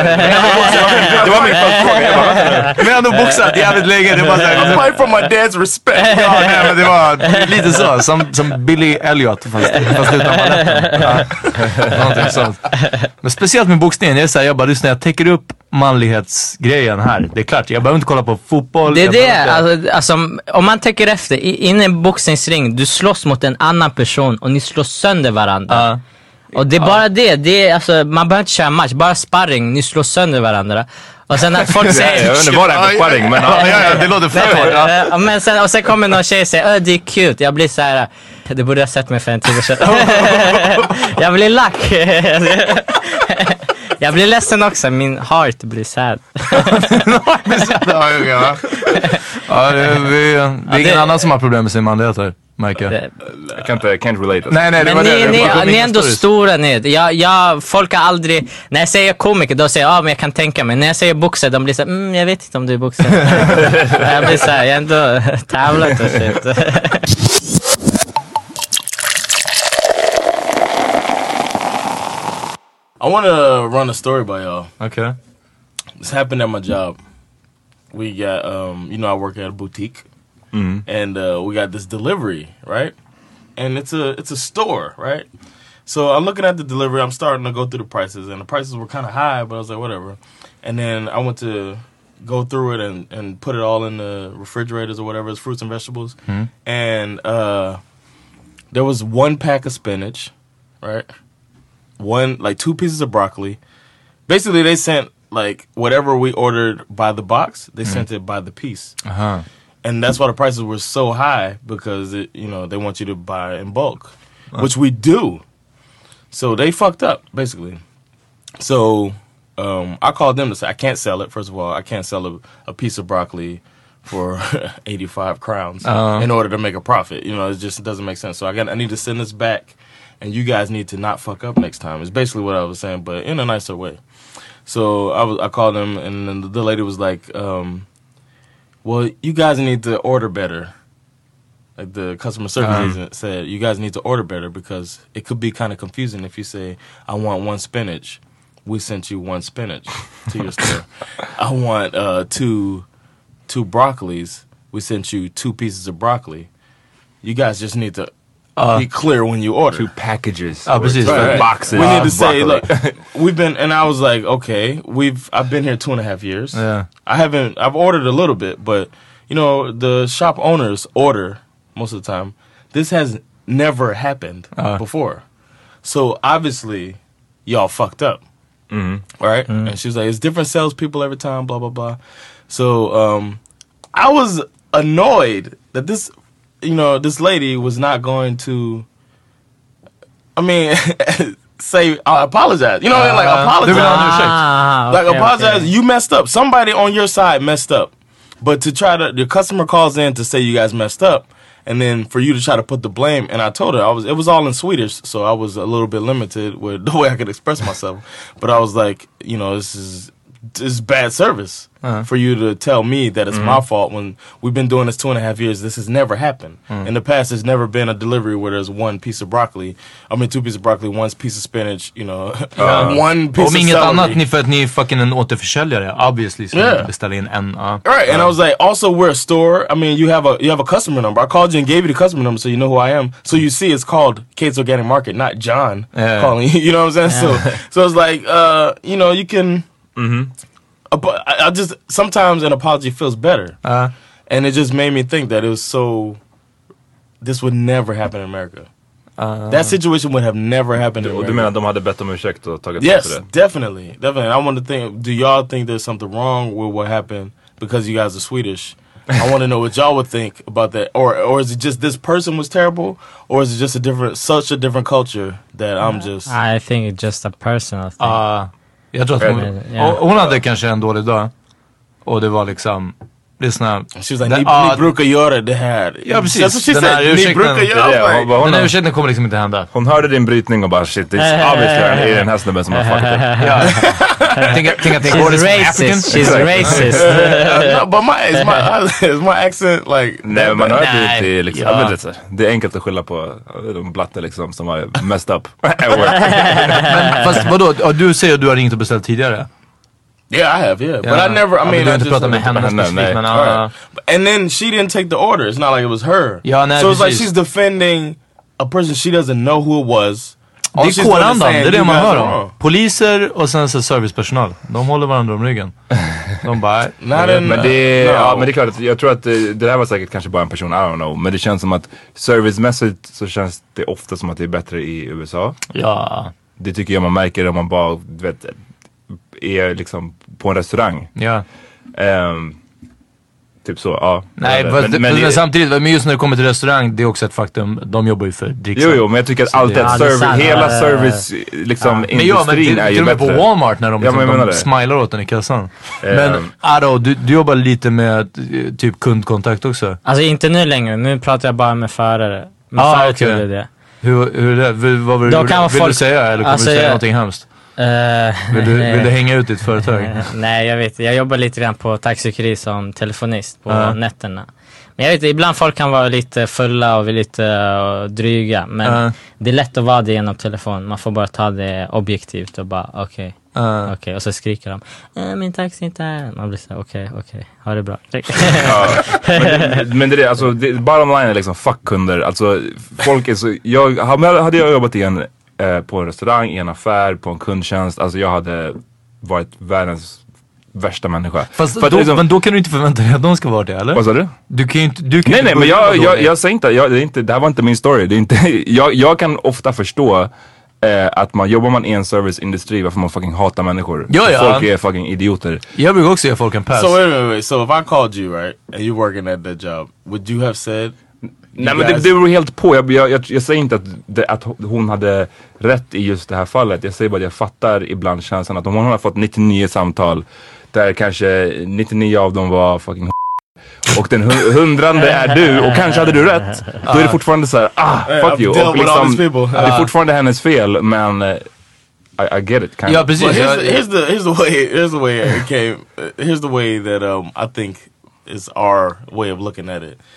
Speaker 7: Det var min följdfråga. Men jag har ändå boxat jävligt länge. Det var så här,
Speaker 9: I'm fight for my dad's respect.
Speaker 7: Ja, nej, men det var lite så, som, som Billy Elliot, fast, fast utan baletten. Ja. Någonting sånt. Men speciellt med boxningen, det är så här, jag bara, lyssna, jag täcker upp manlighetsgrejen här. Det är klart, jag behöver inte kolla på fotboll.
Speaker 8: Det är det, alltså, alltså, om man tänker efter, inne i en boxningsring, du slåss mot en annan person och ni slåss sönder varandra. Uh. Och det är bara uh. det, det är, alltså, man behöver inte köra match, bara sparring, ni slår sönder varandra. Och sen att folk säger...
Speaker 7: Jag vet inte vad det är för sparring, men ja, ja, ja, det låter för
Speaker 8: ja. Men sen, och sen kommer någon tjej och säger, öh, det är cute. Jag blir så här, det borde jag sett mig för en tid sedan. Jag blir lack. Jag blir ledsen också, min heart blir sad.
Speaker 7: Ja, ja. Ja, det är, vi, det är ja, ingen det, annan som har problem med sin manlighet här, märker jag.
Speaker 10: Jag kan inte, can't relate.
Speaker 7: Nej, nej, det
Speaker 8: men
Speaker 7: var
Speaker 8: ni,
Speaker 7: det.
Speaker 8: Ni,
Speaker 7: det
Speaker 8: ni är ändå stora nu. Jag, jag, folk har aldrig, när jag säger komiker, då säger jag, ja, men jag kan tänka mig. När jag säger boxare, de blir så här, mm, jag vet inte om du är boxare. Jag blir så här, jag är ändå tävlat och shit.
Speaker 9: I want to run a story by y'all.
Speaker 7: Okay.
Speaker 9: This happened at my job. We got, um, you know, I work at a boutique, mm. and uh, we got this delivery, right? And it's a it's a store, right? So I'm looking at the delivery. I'm starting to go through the prices, and the prices were kind of high, but I was like, whatever. And then I went to go through it and, and put it all in the refrigerators or whatever, it's fruits and vegetables. Mm. And uh, there was one pack of spinach, right? One, like two pieces of broccoli. Basically, they sent like whatever we ordered by the box, they mm. sent it by the piece. Uh-huh. And that's why the prices were so high, because it, you know, they want you to buy in bulk, uh. which we do. So they fucked up, basically. So um, I called them to say, I can't sell it. First of all, I can't sell a, a piece of broccoli for eighty-five crowns uh. in order to make a profit. You know, it just doesn't make sense. So I got, I need to send this back. And you guys need to not fuck up next time. It's basically what I was saying, but in a nicer way. So I was, I called them, and then the lady was like, um, well, you guys need to order better. Like the customer service um. agent said, you guys need to order better, because it could be kind of confusing if you say, I want one spinach. We sent you one spinach to your store. I want uh, two, two broccolis. We sent you two pieces of broccoli. You guys just need to Uh, be clear when you order.
Speaker 10: Two packages.
Speaker 7: Oh, precis.
Speaker 9: Right, right.
Speaker 10: Boxes.
Speaker 9: We need to say, look, we've been, and I was like, okay, we've, I've been here two and a half years.
Speaker 7: Yeah.
Speaker 9: I haven't, I've ordered a little bit, but, you know, the shop owners order most of the time. This has never happened uh. before. So obviously, y'all fucked up. Mm-hmm. Right? Mm-hmm. And she was like, it's different salespeople every time, blah, blah, blah. So um, I was annoyed that this, you know, this lady was not going to, I mean, say, I apologize. You know what I mean? Like, apologize.
Speaker 8: Ah,
Speaker 9: like,
Speaker 8: okay,
Speaker 9: apologize.
Speaker 8: okay.
Speaker 9: You messed up. Somebody on your side messed up. But to try to, the customer calls in to say you guys messed up, and then for you to try to put the blame, and I told her, I was, it was all in Swedish, so I was a little bit limited with the way I could express myself. But I was like, you know, this is it's bad service uh-huh. for you to tell me that it's mm. my fault when we've been doing this two and a half years. This has never happened. Mm. In the past, there's never been a delivery where there's one piece of broccoli. I mean, two pieces of broccoli, one piece of spinach, you know, uh, one piece of celery.
Speaker 7: Om inget annat, ni för att ni är fucking en återförsäljare. Obviously, så yeah. beställa in en. Uh,
Speaker 9: right,
Speaker 7: uh.
Speaker 9: and I was like, also we're a store. I mean, you have a you have a customer number. I called you and gave you the customer number so you know who I am. So you see it's called Kate's Organic Market, not John yeah. calling you. You know what I'm saying? Yeah. So, so it's like, uh, you know, you can... Mm-hmm. But I just sometimes an apology feels better, uh, and it just made me think that it was so. This would never happen in America. Uh, that situation would have never happened in America.
Speaker 5: Du menar de hade bett om ursäkt och tagit
Speaker 9: yes, det? definitely, definitely. I want to think. Do y'all think there's something wrong with what happened because you guys are Swedish? I want to know what y'all would think about that, or or is it just this person was terrible, or is it just a different, such a different culture that I'm just?
Speaker 8: I think it's just a personal thing.
Speaker 7: Uh, Jag tror att hon, yeah. hon hade kanske en dålig dag. Och det var liksom lyssna.
Speaker 9: She was like, ni, uh, ni brukar göra det här.
Speaker 7: Ja, precis.
Speaker 9: That's what she said. Ni brukar göra det här.
Speaker 7: Den här ursäkten kommer liksom inte hända.
Speaker 5: Hon hörde din brytning och bara shit, det är obviously den här snubben som har fuckat upp.
Speaker 7: Ja. Tänk att tänk att
Speaker 8: She's racist. She's racist.
Speaker 9: No, but my is my is my accent like?
Speaker 5: Nej, man hör det till liksom. Ja. Det, det är enkelt att skylla på de blatte liksom som har messed up.
Speaker 7: Men fast vadå? Du säger att du har ringt och beställt tidigare.
Speaker 9: Yeah, I have, yeah. yeah. But I never, I mean,
Speaker 7: I just... Med henne specifikt, men, uh,
Speaker 9: right. And then she didn't take the order. It's not like it was her.
Speaker 7: Ja, nej,
Speaker 9: so it's like she's defending a person she doesn't know who it was.
Speaker 7: Det är kårandan, det är det man hör om. Poliser och sen så servicepersonal. De håller varandra om ryggen. De bara...
Speaker 5: Nej, men, det, no. ja, men det är klart att jag tror att det, det här var säkert kanske bara en person, I don't know. Men det känns som att servicemässigt så känns det ofta som att det är bättre i U S A.
Speaker 7: Ja.
Speaker 5: Det tycker jag man märker om man bara, du vet... är liksom på en restaurang.
Speaker 7: Ja.
Speaker 5: Um, typ så, ja.
Speaker 7: Nej, men, men, men, men samtidigt, men just när det kommer till restaurang, det är också ett faktum. De jobbar ju för dricksvatten.
Speaker 5: Jo, jo, men jag tycker att allt det, ja, service, det hela service liksom ja. industrin
Speaker 7: ja,
Speaker 5: är ju
Speaker 7: till
Speaker 5: bättre.
Speaker 7: Till och med på Walmart när de,
Speaker 5: ja,
Speaker 7: liksom, de smilar åt den i kassan. Um, men Aro, du, du jobbar lite med typ kundkontakt också.
Speaker 8: Alltså inte nu längre, nu pratar jag bara med förare. Med
Speaker 7: ah,
Speaker 8: förare
Speaker 7: okay.
Speaker 8: det det.
Speaker 7: Hur, hur är det? Vad vill, vill, vill folk... du säga? Eller kommer alltså, du säga jag... någonting hemskt? Uh, vill, du, vill du hänga ut ditt företag?
Speaker 8: Nej, jag vet. Jag jobbar lite grann på taxikeri som telefonist på uh. nätterna. Men jag vet, ibland folk kan vara lite fulla och lite uh, dryga. Men uh. det är lätt att vara det genom telefon. Man får bara ta det objektivt och bara okej. Okay. Uh. Okej, okay. Och så skriker de äh, min taxi inte är. Man blir så okej, okay, okej, okay. Ha det bra.
Speaker 5: Ja, men, men det är alltså, det, bottom line är liksom fuck kunder. Alltså folk är så, jag, hade jag jobbat i en eh, på en restaurang, i en affär, på en kundtjänst, alltså jag hade varit världens värsta människa.
Speaker 7: Fast för då, liksom, men då kan du inte förvänta dig att de ska vara det, eller?
Speaker 5: Vad sa du?
Speaker 7: Du kan ju inte, du kan
Speaker 5: nej,
Speaker 7: inte
Speaker 5: nej, men jag, jag, jag säger inte, jag, det, är inte, det här var inte min story. Det är inte, jag, jag kan ofta förstå Eh, att man jobbar man i en serviceindustri, varför man fucking hatar människor.
Speaker 7: Ja, ja.
Speaker 5: Folk är fucking idioter.
Speaker 7: Jag brukar också ge folk en pass.
Speaker 9: So wait, wait, wait. So if I called you, right, and you're working at that job, would you have said?
Speaker 5: Nej, men det, det beror helt på. Jag, jag, jag, jag säger inte att, det, att hon hade rätt i just det här fallet. Jag säger bara att jag fattar ibland känslan att om hon har fått nittionio samtal där kanske nittionio av dem var fucking och den hundrande är du och kanske hade du rätt, då är det fortfarande så här, ah, fuck you, och liksom, det är fortfarande hennes fel, men uh, I, I get it kind
Speaker 7: ja,
Speaker 5: of.
Speaker 7: precis.
Speaker 9: Here's, here's the here's the way here's the way it came here's the way that um I think is our way of looking at it.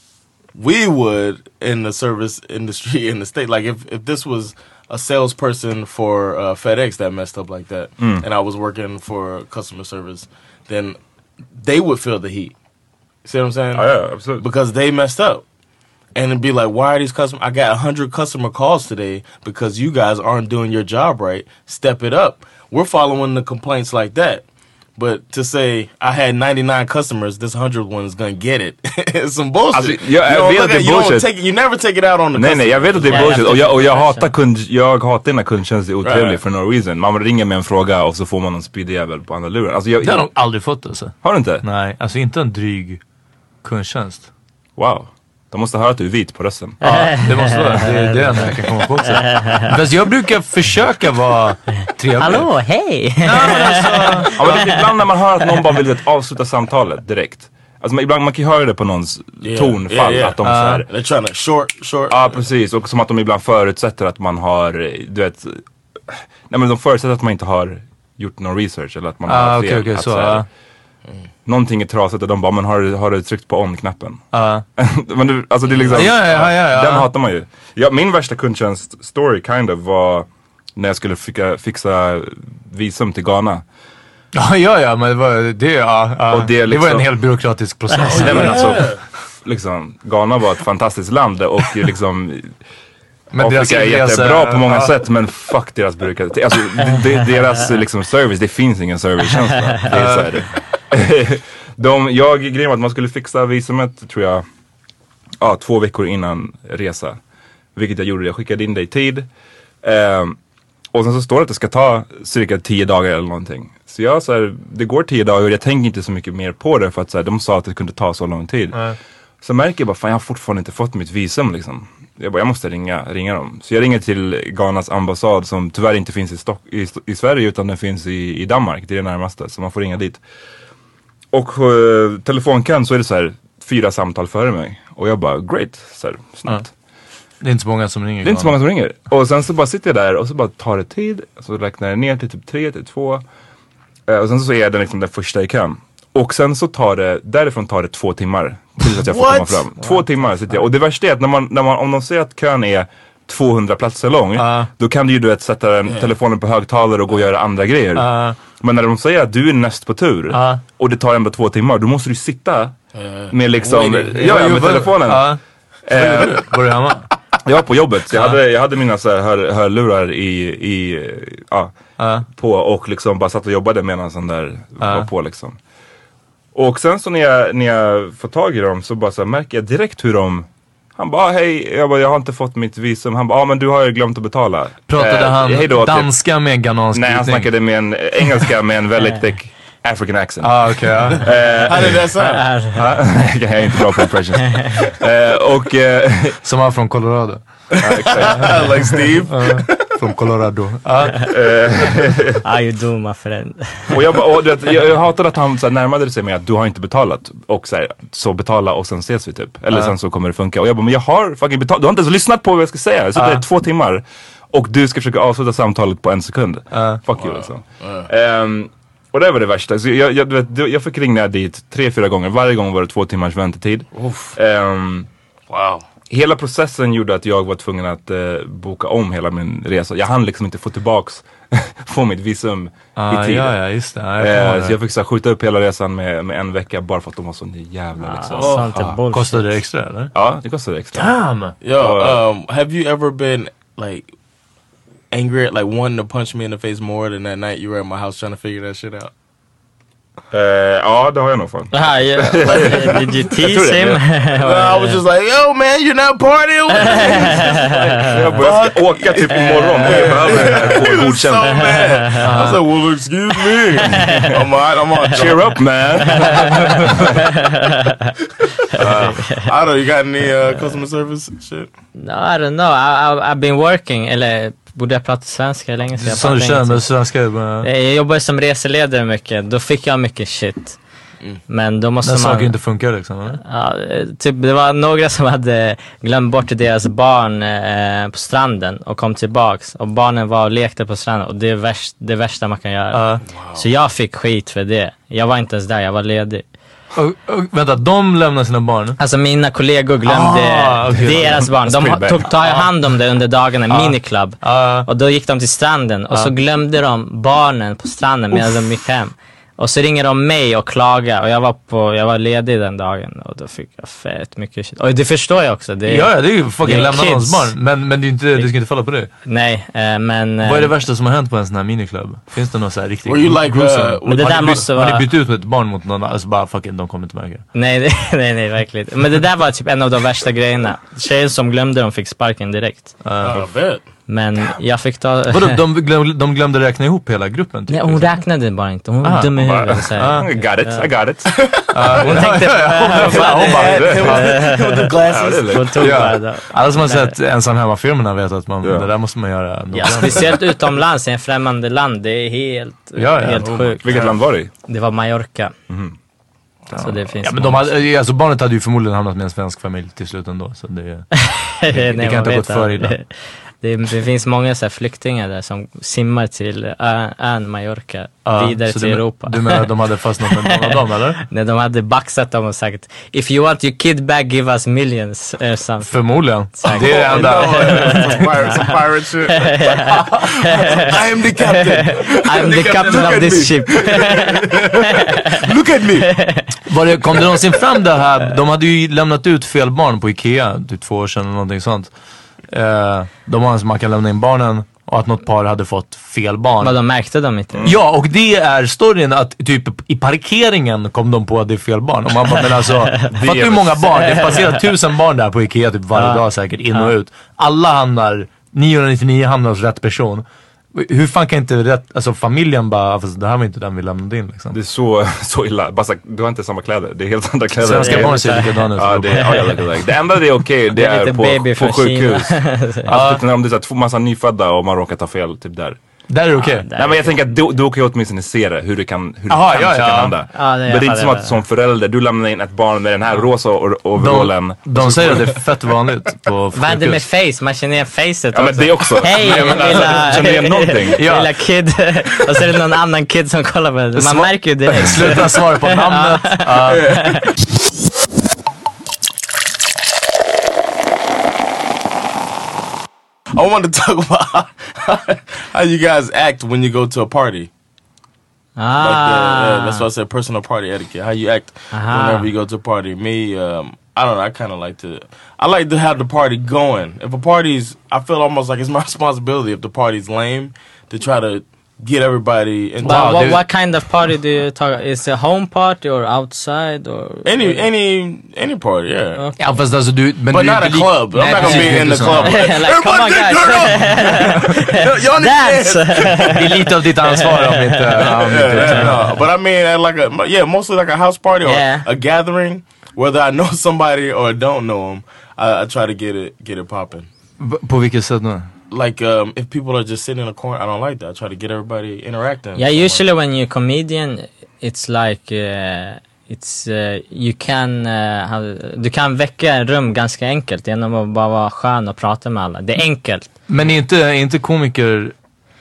Speaker 9: We would, in the service industry in the state, like if if this was a salesperson for uh, FedEx that messed up like that, mm. and I was working for customer service, then they would feel the heat. See what I'm saying?
Speaker 5: Oh, yeah, absolutely.
Speaker 9: Because they messed up. And it'd be like, why are these customers? I got one hundred customer calls today because you guys aren't doing your job right. Step it up. We're following the complaints like that. But to say, I had ninety-nine customers, this one hundred one is gonna get it. It's some bullshit.
Speaker 5: Alltså, jag, jag vet att det är bullshit.
Speaker 9: You, take it, you never take it out on the
Speaker 5: nej,
Speaker 9: customer.
Speaker 5: Nej, jag vet att det är bullshit. Och jag, och jag hatar kund, jag hatar när kundtjänst är otrevlig right. för no reason. Man ringer med en fråga och så får man en speedy jävel på andra luren. Alltså, jag,
Speaker 7: det har jag nog aldrig fått alltså.
Speaker 5: Har du inte?
Speaker 7: Nej, alltså inte en dryg kundtjänst.
Speaker 5: Wow. De måste höra att du är vit på rösten.
Speaker 7: Ja, det måste vara. Det är det enda jag kan komma på också. Fast jag brukar försöka vara trevlig.
Speaker 8: Hallå, hej!
Speaker 5: Ja, men alltså, ja, men ibland när man hör att någon bara vill avsluta samtalet direkt. Alltså ibland man kan höra det på någons yeah, tonfall. Yeah, yeah. Att de uh, så här,
Speaker 9: they're trying to short, short.
Speaker 5: Ja, precis. Och som att de ibland förutsätter att man har, du vet, nej men de förutsätter att man inte har gjort någon research eller att man
Speaker 7: ah,
Speaker 5: har
Speaker 7: fel.
Speaker 5: fel.
Speaker 7: Okay, okay,
Speaker 5: att,
Speaker 7: så,
Speaker 5: så här,
Speaker 7: uh.
Speaker 5: mm. någonting är trasigt och de bara, men har du, har du tryckt på on-knappen?
Speaker 7: Uh.
Speaker 5: men du, alltså det är liksom,
Speaker 7: ja, ja, ja, ja.
Speaker 5: den hatar man ju. Ja, min värsta kundtjänst story kind of var när jag skulle fixa, fixa visum till Ghana.
Speaker 7: Ja, ja, ja, men det var, det, ja, ja.
Speaker 5: Och det, liksom,
Speaker 7: det var en helt byråkratisk process.
Speaker 5: Nej, men alltså, liksom, Ghana var ett fantastiskt land och liksom men Afrika är jättebra på många ja. sätt, men fuck deras byråkrati. Alltså de, deras liksom service, det finns ingen servicekänsla. Det är så här. De, jag grejen var att man skulle fixa visumet, tror jag, ja, två veckor innan resa. Vilket jag gjorde, jag skickade in det i tid. Um, och sen så står det att det ska ta cirka tio dagar eller någonting. Så jag så här, det går tio dagar och jag tänker inte så mycket mer på det för att så här, de sa att det kunde ta så lång tid. Mm. Så märker jag bara, fan jag har fortfarande inte fått mitt visum liksom. Jag bara, jag måste ringa, ringa dem. Så jag ringer till Ghanas ambassad som tyvärr inte finns i, Stock- i, i Sverige utan den finns i, i Danmark. Det är det närmaste, så man får ringa dit. Och uh, telefonkön så är det så här fyra samtal före mig. Och jag bara, great, så här, snabbt. Mm.
Speaker 7: Det är inte så många som ringer.
Speaker 5: Det är inte så många som ringer. Och sen så bara sitter jag där och så bara tar det tid. Så räknar jag ner till typ tre, till två. Uh, och sen så är jag den, liksom, den första i kön. Och sen så tar det, därifrån tar det två timmar tills att jag får komma fram. Två What? timmar sitter jag. Och det värsta är att när man, när man, om de säger att kön är tvåhundra platser lång, uh. då kan du ju du vet, sätta den, yeah. telefonen på högtalare och gå och göra andra grejer. Uh. Men när de säger att du är näst på tur uh. och det tar ändå två timmar, då måste du sitta uh. med liksom, ja, ja, med telefonen. Uh.
Speaker 7: Eh, var du hemma?
Speaker 5: Jag var på jobbet. Jag, uh. hade, jag hade mina så här, hör, hörlurar i, i ja, uh. på och liksom bara satt och jobbade medan sån där uh. var på liksom. Och sen så när jag, när jag får tag i dem så bara så här, märker jag direkt hur de... Han bara, hej, jag, bara, jag har inte fått mitt visum. Han bara, ja ah, men du har ju glömt att betala.
Speaker 7: Pratade eh, han hejdå, danska typ, med ghanansk?
Speaker 5: Nej, han snackade med en engelska med en väldigt thick African accent.
Speaker 7: Ah, okej. Okay, ja.
Speaker 9: Han är det så här?
Speaker 5: Jag är inte bra på impressions. uh, och... Uh,
Speaker 7: Som var från Colorado.
Speaker 9: Like Steve.
Speaker 7: Uh, från Colorado.
Speaker 8: Ah, you do my friend.
Speaker 5: Och jag, bara, och, vet, jag, jag hatade att han så här, närmade sig med att du har inte betalat. Och så, här, så betala och sen ses vi typ. Eller uh. sen så kommer det funka. Och jag bara, men jag har fucking betalat. Du har inte ens lyssnat på vad jag ska säga. Jag sitter uh. där i två timmar. Och du ska försöka avsluta samtalet på en sekund. Uh. Fuck you alltså. Uh. Um, och det var det värsta. Så jag, jag, du vet, jag fick ringa dit tre, fyra gånger. Varje gång var det två timmars väntetid. Um,
Speaker 9: wow.
Speaker 5: Hela processen gjorde att jag var tvungen att uh, boka om hela min resa. Jag hann liksom inte få tillbaks få mitt visum
Speaker 7: ah,
Speaker 5: i tid.
Speaker 7: Ja, ja, just det. Jag
Speaker 5: uh, så jag fick så här, skjuta upp hela resan med, med en vecka bara för att de var så jävla
Speaker 8: ah,
Speaker 5: liksom.
Speaker 8: oh,
Speaker 7: ah. Kostade det extra eller?
Speaker 5: Ja, det kostade extra.
Speaker 7: Damn!
Speaker 9: Yo, um, have you ever been like angry at like wanting to punch me in the face more than that night you were at my house trying to figure that shit out?
Speaker 5: Uh, ja, det har jag nog fan.
Speaker 8: Ah, yeah. Like, did you tease him?
Speaker 9: I was just like, yo man, you're not partying with me.
Speaker 5: Jag började åka typ imorgon. Jag behöver det här på godkänt.
Speaker 9: So mad. I was like, well excuse me. I'm on, I'm on.
Speaker 5: Cheer up man.
Speaker 9: uh, I don't know, you got any uh, customer service shit?
Speaker 8: No, I don't know. I, I, I've been working, eller borde jag prata svenska länge så jag
Speaker 7: Som du känner med svenska?
Speaker 8: Jag jobbar som reseledare mycket. Då fick jag mycket shit. Mm. Men då måste
Speaker 7: När
Speaker 8: man...
Speaker 7: saker inte funkar liksom? Eller?
Speaker 8: Ja, typ det var några som hade glömt bort deras barn eh, på stranden och kom tillbaks. Och barnen var och lekte på stranden. Och det är värst, det värsta man kan göra. Uh. Wow. Så jag fick skit för det. Jag var inte ens där, jag var ledig.
Speaker 7: Och, och, vänta, de lämnar sina barn?
Speaker 8: Alltså mina kollegor glömde ah, okay. deras barn. De tog ta hand om det under dagarna, ah. miniklubb. Ah. Och då gick de till stranden och ah. så glömde de barnen på stranden medan de gick hem. Och så ringer de mig och klagar. Och jag var, på, jag var ledig den dagen. Och då fick jag fett mycket shit. Och det förstår jag också. Det är,
Speaker 7: ja, det är ju fucking lämna någons barn. Men, men det är inte, du ska inte falla på det.
Speaker 8: Nej, äh, men...
Speaker 7: Vad är det värsta som har hänt på en sån här miniklubb? Finns det något så här riktigt...
Speaker 9: Like, uh,
Speaker 8: men det där
Speaker 7: har,
Speaker 8: måste
Speaker 7: ni,
Speaker 8: vara...
Speaker 7: har ni bytt ut med ett barn mot någon? Alltså bara fucking, de kommer inte märka.
Speaker 8: Nej, det, nej, nej, verkligen. Men det där var typ en av de värsta grejerna. Tjejen som glömde dem fick sparken direkt.
Speaker 9: Uh. Uh, bet.
Speaker 8: Men jag fick ta...
Speaker 7: Vadå, de, glöm, de glömde räkna ihop hela gruppen? Typ,
Speaker 8: nej, hon räknade bara inte. Hon var dum i huvudet.
Speaker 5: Uh, I got it, I got it.
Speaker 8: Uh, hon tänkte... Hon tog bara det.
Speaker 7: Alla som har sett ensam hemma-filmerna vet att man, det där måste man göra.
Speaker 8: Ja, speciellt utomlands, i en främmande land. Det är helt,
Speaker 7: ja, ja.
Speaker 8: helt sjukt.
Speaker 5: Vilket land var det i?
Speaker 8: Det var Mallorca.
Speaker 5: Mm.
Speaker 8: Så det finns
Speaker 7: ja, men de hade, alltså barnet hade ju förmodligen hamnat med en svensk familj till slut ändå. Så det, det, det,
Speaker 8: nej,
Speaker 7: det kan inte ha gått för illa.
Speaker 8: Det, det finns många så här flyktingar där som simmar till ö, ön Mallorca
Speaker 7: Ja,
Speaker 8: vidare
Speaker 7: så
Speaker 8: till
Speaker 7: du,
Speaker 8: Europa.
Speaker 7: Du menar att de hade fastnat med någon av dem, eller?
Speaker 8: Nej, de hade baxat dem och sagt if you want your kid back, give us millions. Uh, something.
Speaker 7: Förmodligen.
Speaker 8: Sagt.
Speaker 7: Det är det enda.
Speaker 9: Pirate, some pirate shit. I am the captain.
Speaker 8: I am the captain of this ship.
Speaker 9: Look at me.
Speaker 7: Var det, kom det någonsin fram det här? De hade ju lämnat ut fel barn på Ikea typ två år sedan eller någonting sånt. Eh, de har en som man kan lämna in barnen och att något par hade fått fel barn.
Speaker 8: Vad de märkte de inte.
Speaker 7: Mm. Ja, och det är storyn att typ i parkeringen kom de på att det är fel barn. Och man bara, men alltså, fattar hur många barn? Det passerar tusen barn där på Ikea typ varje
Speaker 8: ja.
Speaker 7: dag säkert, in och ut. Alla hamnar, niohundranittionio hamnar hos rätt person. Hur fan kan inte rätt, alltså familjen bara, fast det här var inte den vi lämnade in liksom.
Speaker 10: Det är så, så illa. Bara, du har inte samma kläder. Det är helt andra kläder.
Speaker 7: Svenska barn ser likadana ut.
Speaker 10: Ja, det, ja, jag vet det. Det enda det är okej, det,
Speaker 8: Det är
Speaker 10: är,
Speaker 8: lite
Speaker 10: på,
Speaker 8: baby
Speaker 10: på
Speaker 8: från
Speaker 10: sjukhus.
Speaker 8: Kina.
Speaker 10: Alltså, typ, om det är så här, massa nyfödda och man råkar ta fel, typ där.
Speaker 7: Där är det okej.
Speaker 8: Ja,
Speaker 10: Nej, men jag tänker att du, du kan ju åtminstone se det, hur det kan, hur det
Speaker 7: Aha,
Speaker 10: kanske
Speaker 7: ja, ja.
Speaker 10: kan hända.
Speaker 8: Ja, det-
Speaker 10: men
Speaker 8: jag
Speaker 10: det är inte som
Speaker 8: fattar
Speaker 10: att
Speaker 8: det.
Speaker 10: som förälder, du lämnar in ett barn med den här rosa or- overallen.
Speaker 7: De, de säger att det är fett vanligt på
Speaker 8: Vad händer med
Speaker 7: sjukhus.
Speaker 8: face? Man känner igen facet
Speaker 10: Ja, men det också.
Speaker 8: Hej,
Speaker 10: Men jag menar,
Speaker 8: lilla,
Speaker 10: alltså, känner du igen någonting?
Speaker 7: Ja.
Speaker 8: lilla kid. Och så är det någon annan kid som kollar på det. Man märker ju det.
Speaker 7: Sluta svara på namnet. Ja.
Speaker 9: I wanted to talk about how you guys act when you go to a party.
Speaker 8: Ah.
Speaker 9: Like the, uh, that's why I said personal party etiquette. How you act
Speaker 8: Aha.
Speaker 9: whenever you go to a party. Me, um, I don't know. I kind of like to. I like to have the party going. If a party's, I feel almost like it's my responsibility if the party's lame to try to get everybody into
Speaker 8: But what,
Speaker 7: dude.
Speaker 8: what kind of party do you talk? Is it a home party or outside or
Speaker 9: any any any party. Yeah,
Speaker 8: Okay.
Speaker 7: Ja, fast alltså du... Men
Speaker 9: but
Speaker 7: du är
Speaker 9: not a
Speaker 7: inte lik-
Speaker 9: club. I'm
Speaker 7: Nej,
Speaker 9: not gonna
Speaker 7: precis,
Speaker 9: be in the
Speaker 7: inte
Speaker 9: club.
Speaker 7: så.
Speaker 8: Like, come on,
Speaker 9: Everybody
Speaker 8: guys.
Speaker 9: turn up. Y'all need to
Speaker 8: Dance.
Speaker 9: dance.
Speaker 7: Det är lite av ditt ansvar om inte... om inte-
Speaker 9: Yeah, yeah, no. But I mean, at like a yeah, mostly like a house party or
Speaker 8: Yeah.
Speaker 9: a gathering, whether I know somebody or don't know them, I, I try to get it get it popping.
Speaker 7: V- På vilket sätt nu?
Speaker 9: Like um, if people are just sitting in a corner, I don't like that. I try to get everybody interacting.
Speaker 8: Yeah, usually when you're a comedian, it's like uh, it's uh, you can uh, how, du kan väcka en rum ganska enkelt genom att bara vara skön och prata med alla. Det är enkelt.
Speaker 7: Men är inte, är inte komiker...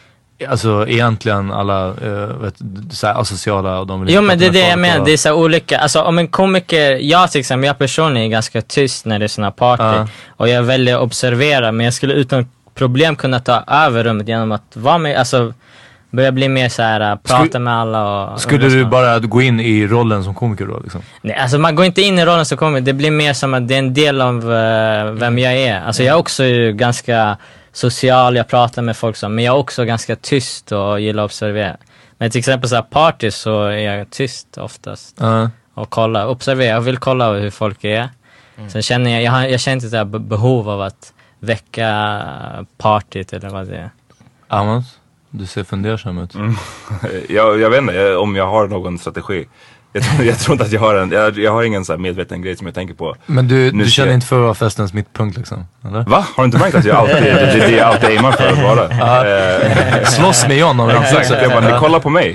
Speaker 7: Alltså egentligen alla uh, vet, så här asociala och de vill
Speaker 8: Jo,
Speaker 7: inte
Speaker 8: men det är
Speaker 7: prata
Speaker 8: det
Speaker 7: med
Speaker 8: jag
Speaker 7: folk
Speaker 8: menar.
Speaker 7: och-
Speaker 8: Det är så olika. Alltså om en komiker, jag till exempel, jag personligen är ganska tyst när det är såna party.
Speaker 7: Ja.
Speaker 8: Och jag väljer att observera, men jag skulle utan problem kunna ta över rummet genom att vara med, alltså börja bli mer så här, prata
Speaker 7: Skulle-
Speaker 8: med alla och...
Speaker 7: Skulle
Speaker 8: och
Speaker 7: du
Speaker 8: lyssna.
Speaker 7: bara gå in i rollen som komiker då liksom?
Speaker 8: Nej, alltså man går inte in i rollen som komiker. Det blir mer som att det är en del av uh, vem jag är. Alltså jag är också ju ganska social, jag pratar med folk som, men jag är också ganska tyst och gillar att observera. Men till exempel så här party så är jag tyst oftast.
Speaker 7: Ja.
Speaker 8: Och kolla, observera, jag vill kolla hur folk är. Sen känner jag, jag, har, jag känner inte så här be- behov av att väcka partyt eller vad det är.
Speaker 7: Amos, du ser fundersam ut.
Speaker 10: Mm. jag, jag vet inte jag, om jag har någon strategi. Jag tror, jag tror inte att jag har en, jag, jag har ingen så här medveten grej som jag tänker på.
Speaker 7: Men du,
Speaker 10: Nu
Speaker 7: du
Speaker 10: ser
Speaker 7: känner
Speaker 10: jag-
Speaker 7: inte för att vara festens mittpunkt liksom? Eller?
Speaker 10: Va? Har du inte märkt att jag alltid, det, det, det är alltid aimar för att vara? Eh,
Speaker 7: Slåss med John om
Speaker 10: Exakt, jag bara, ni kollar på mig.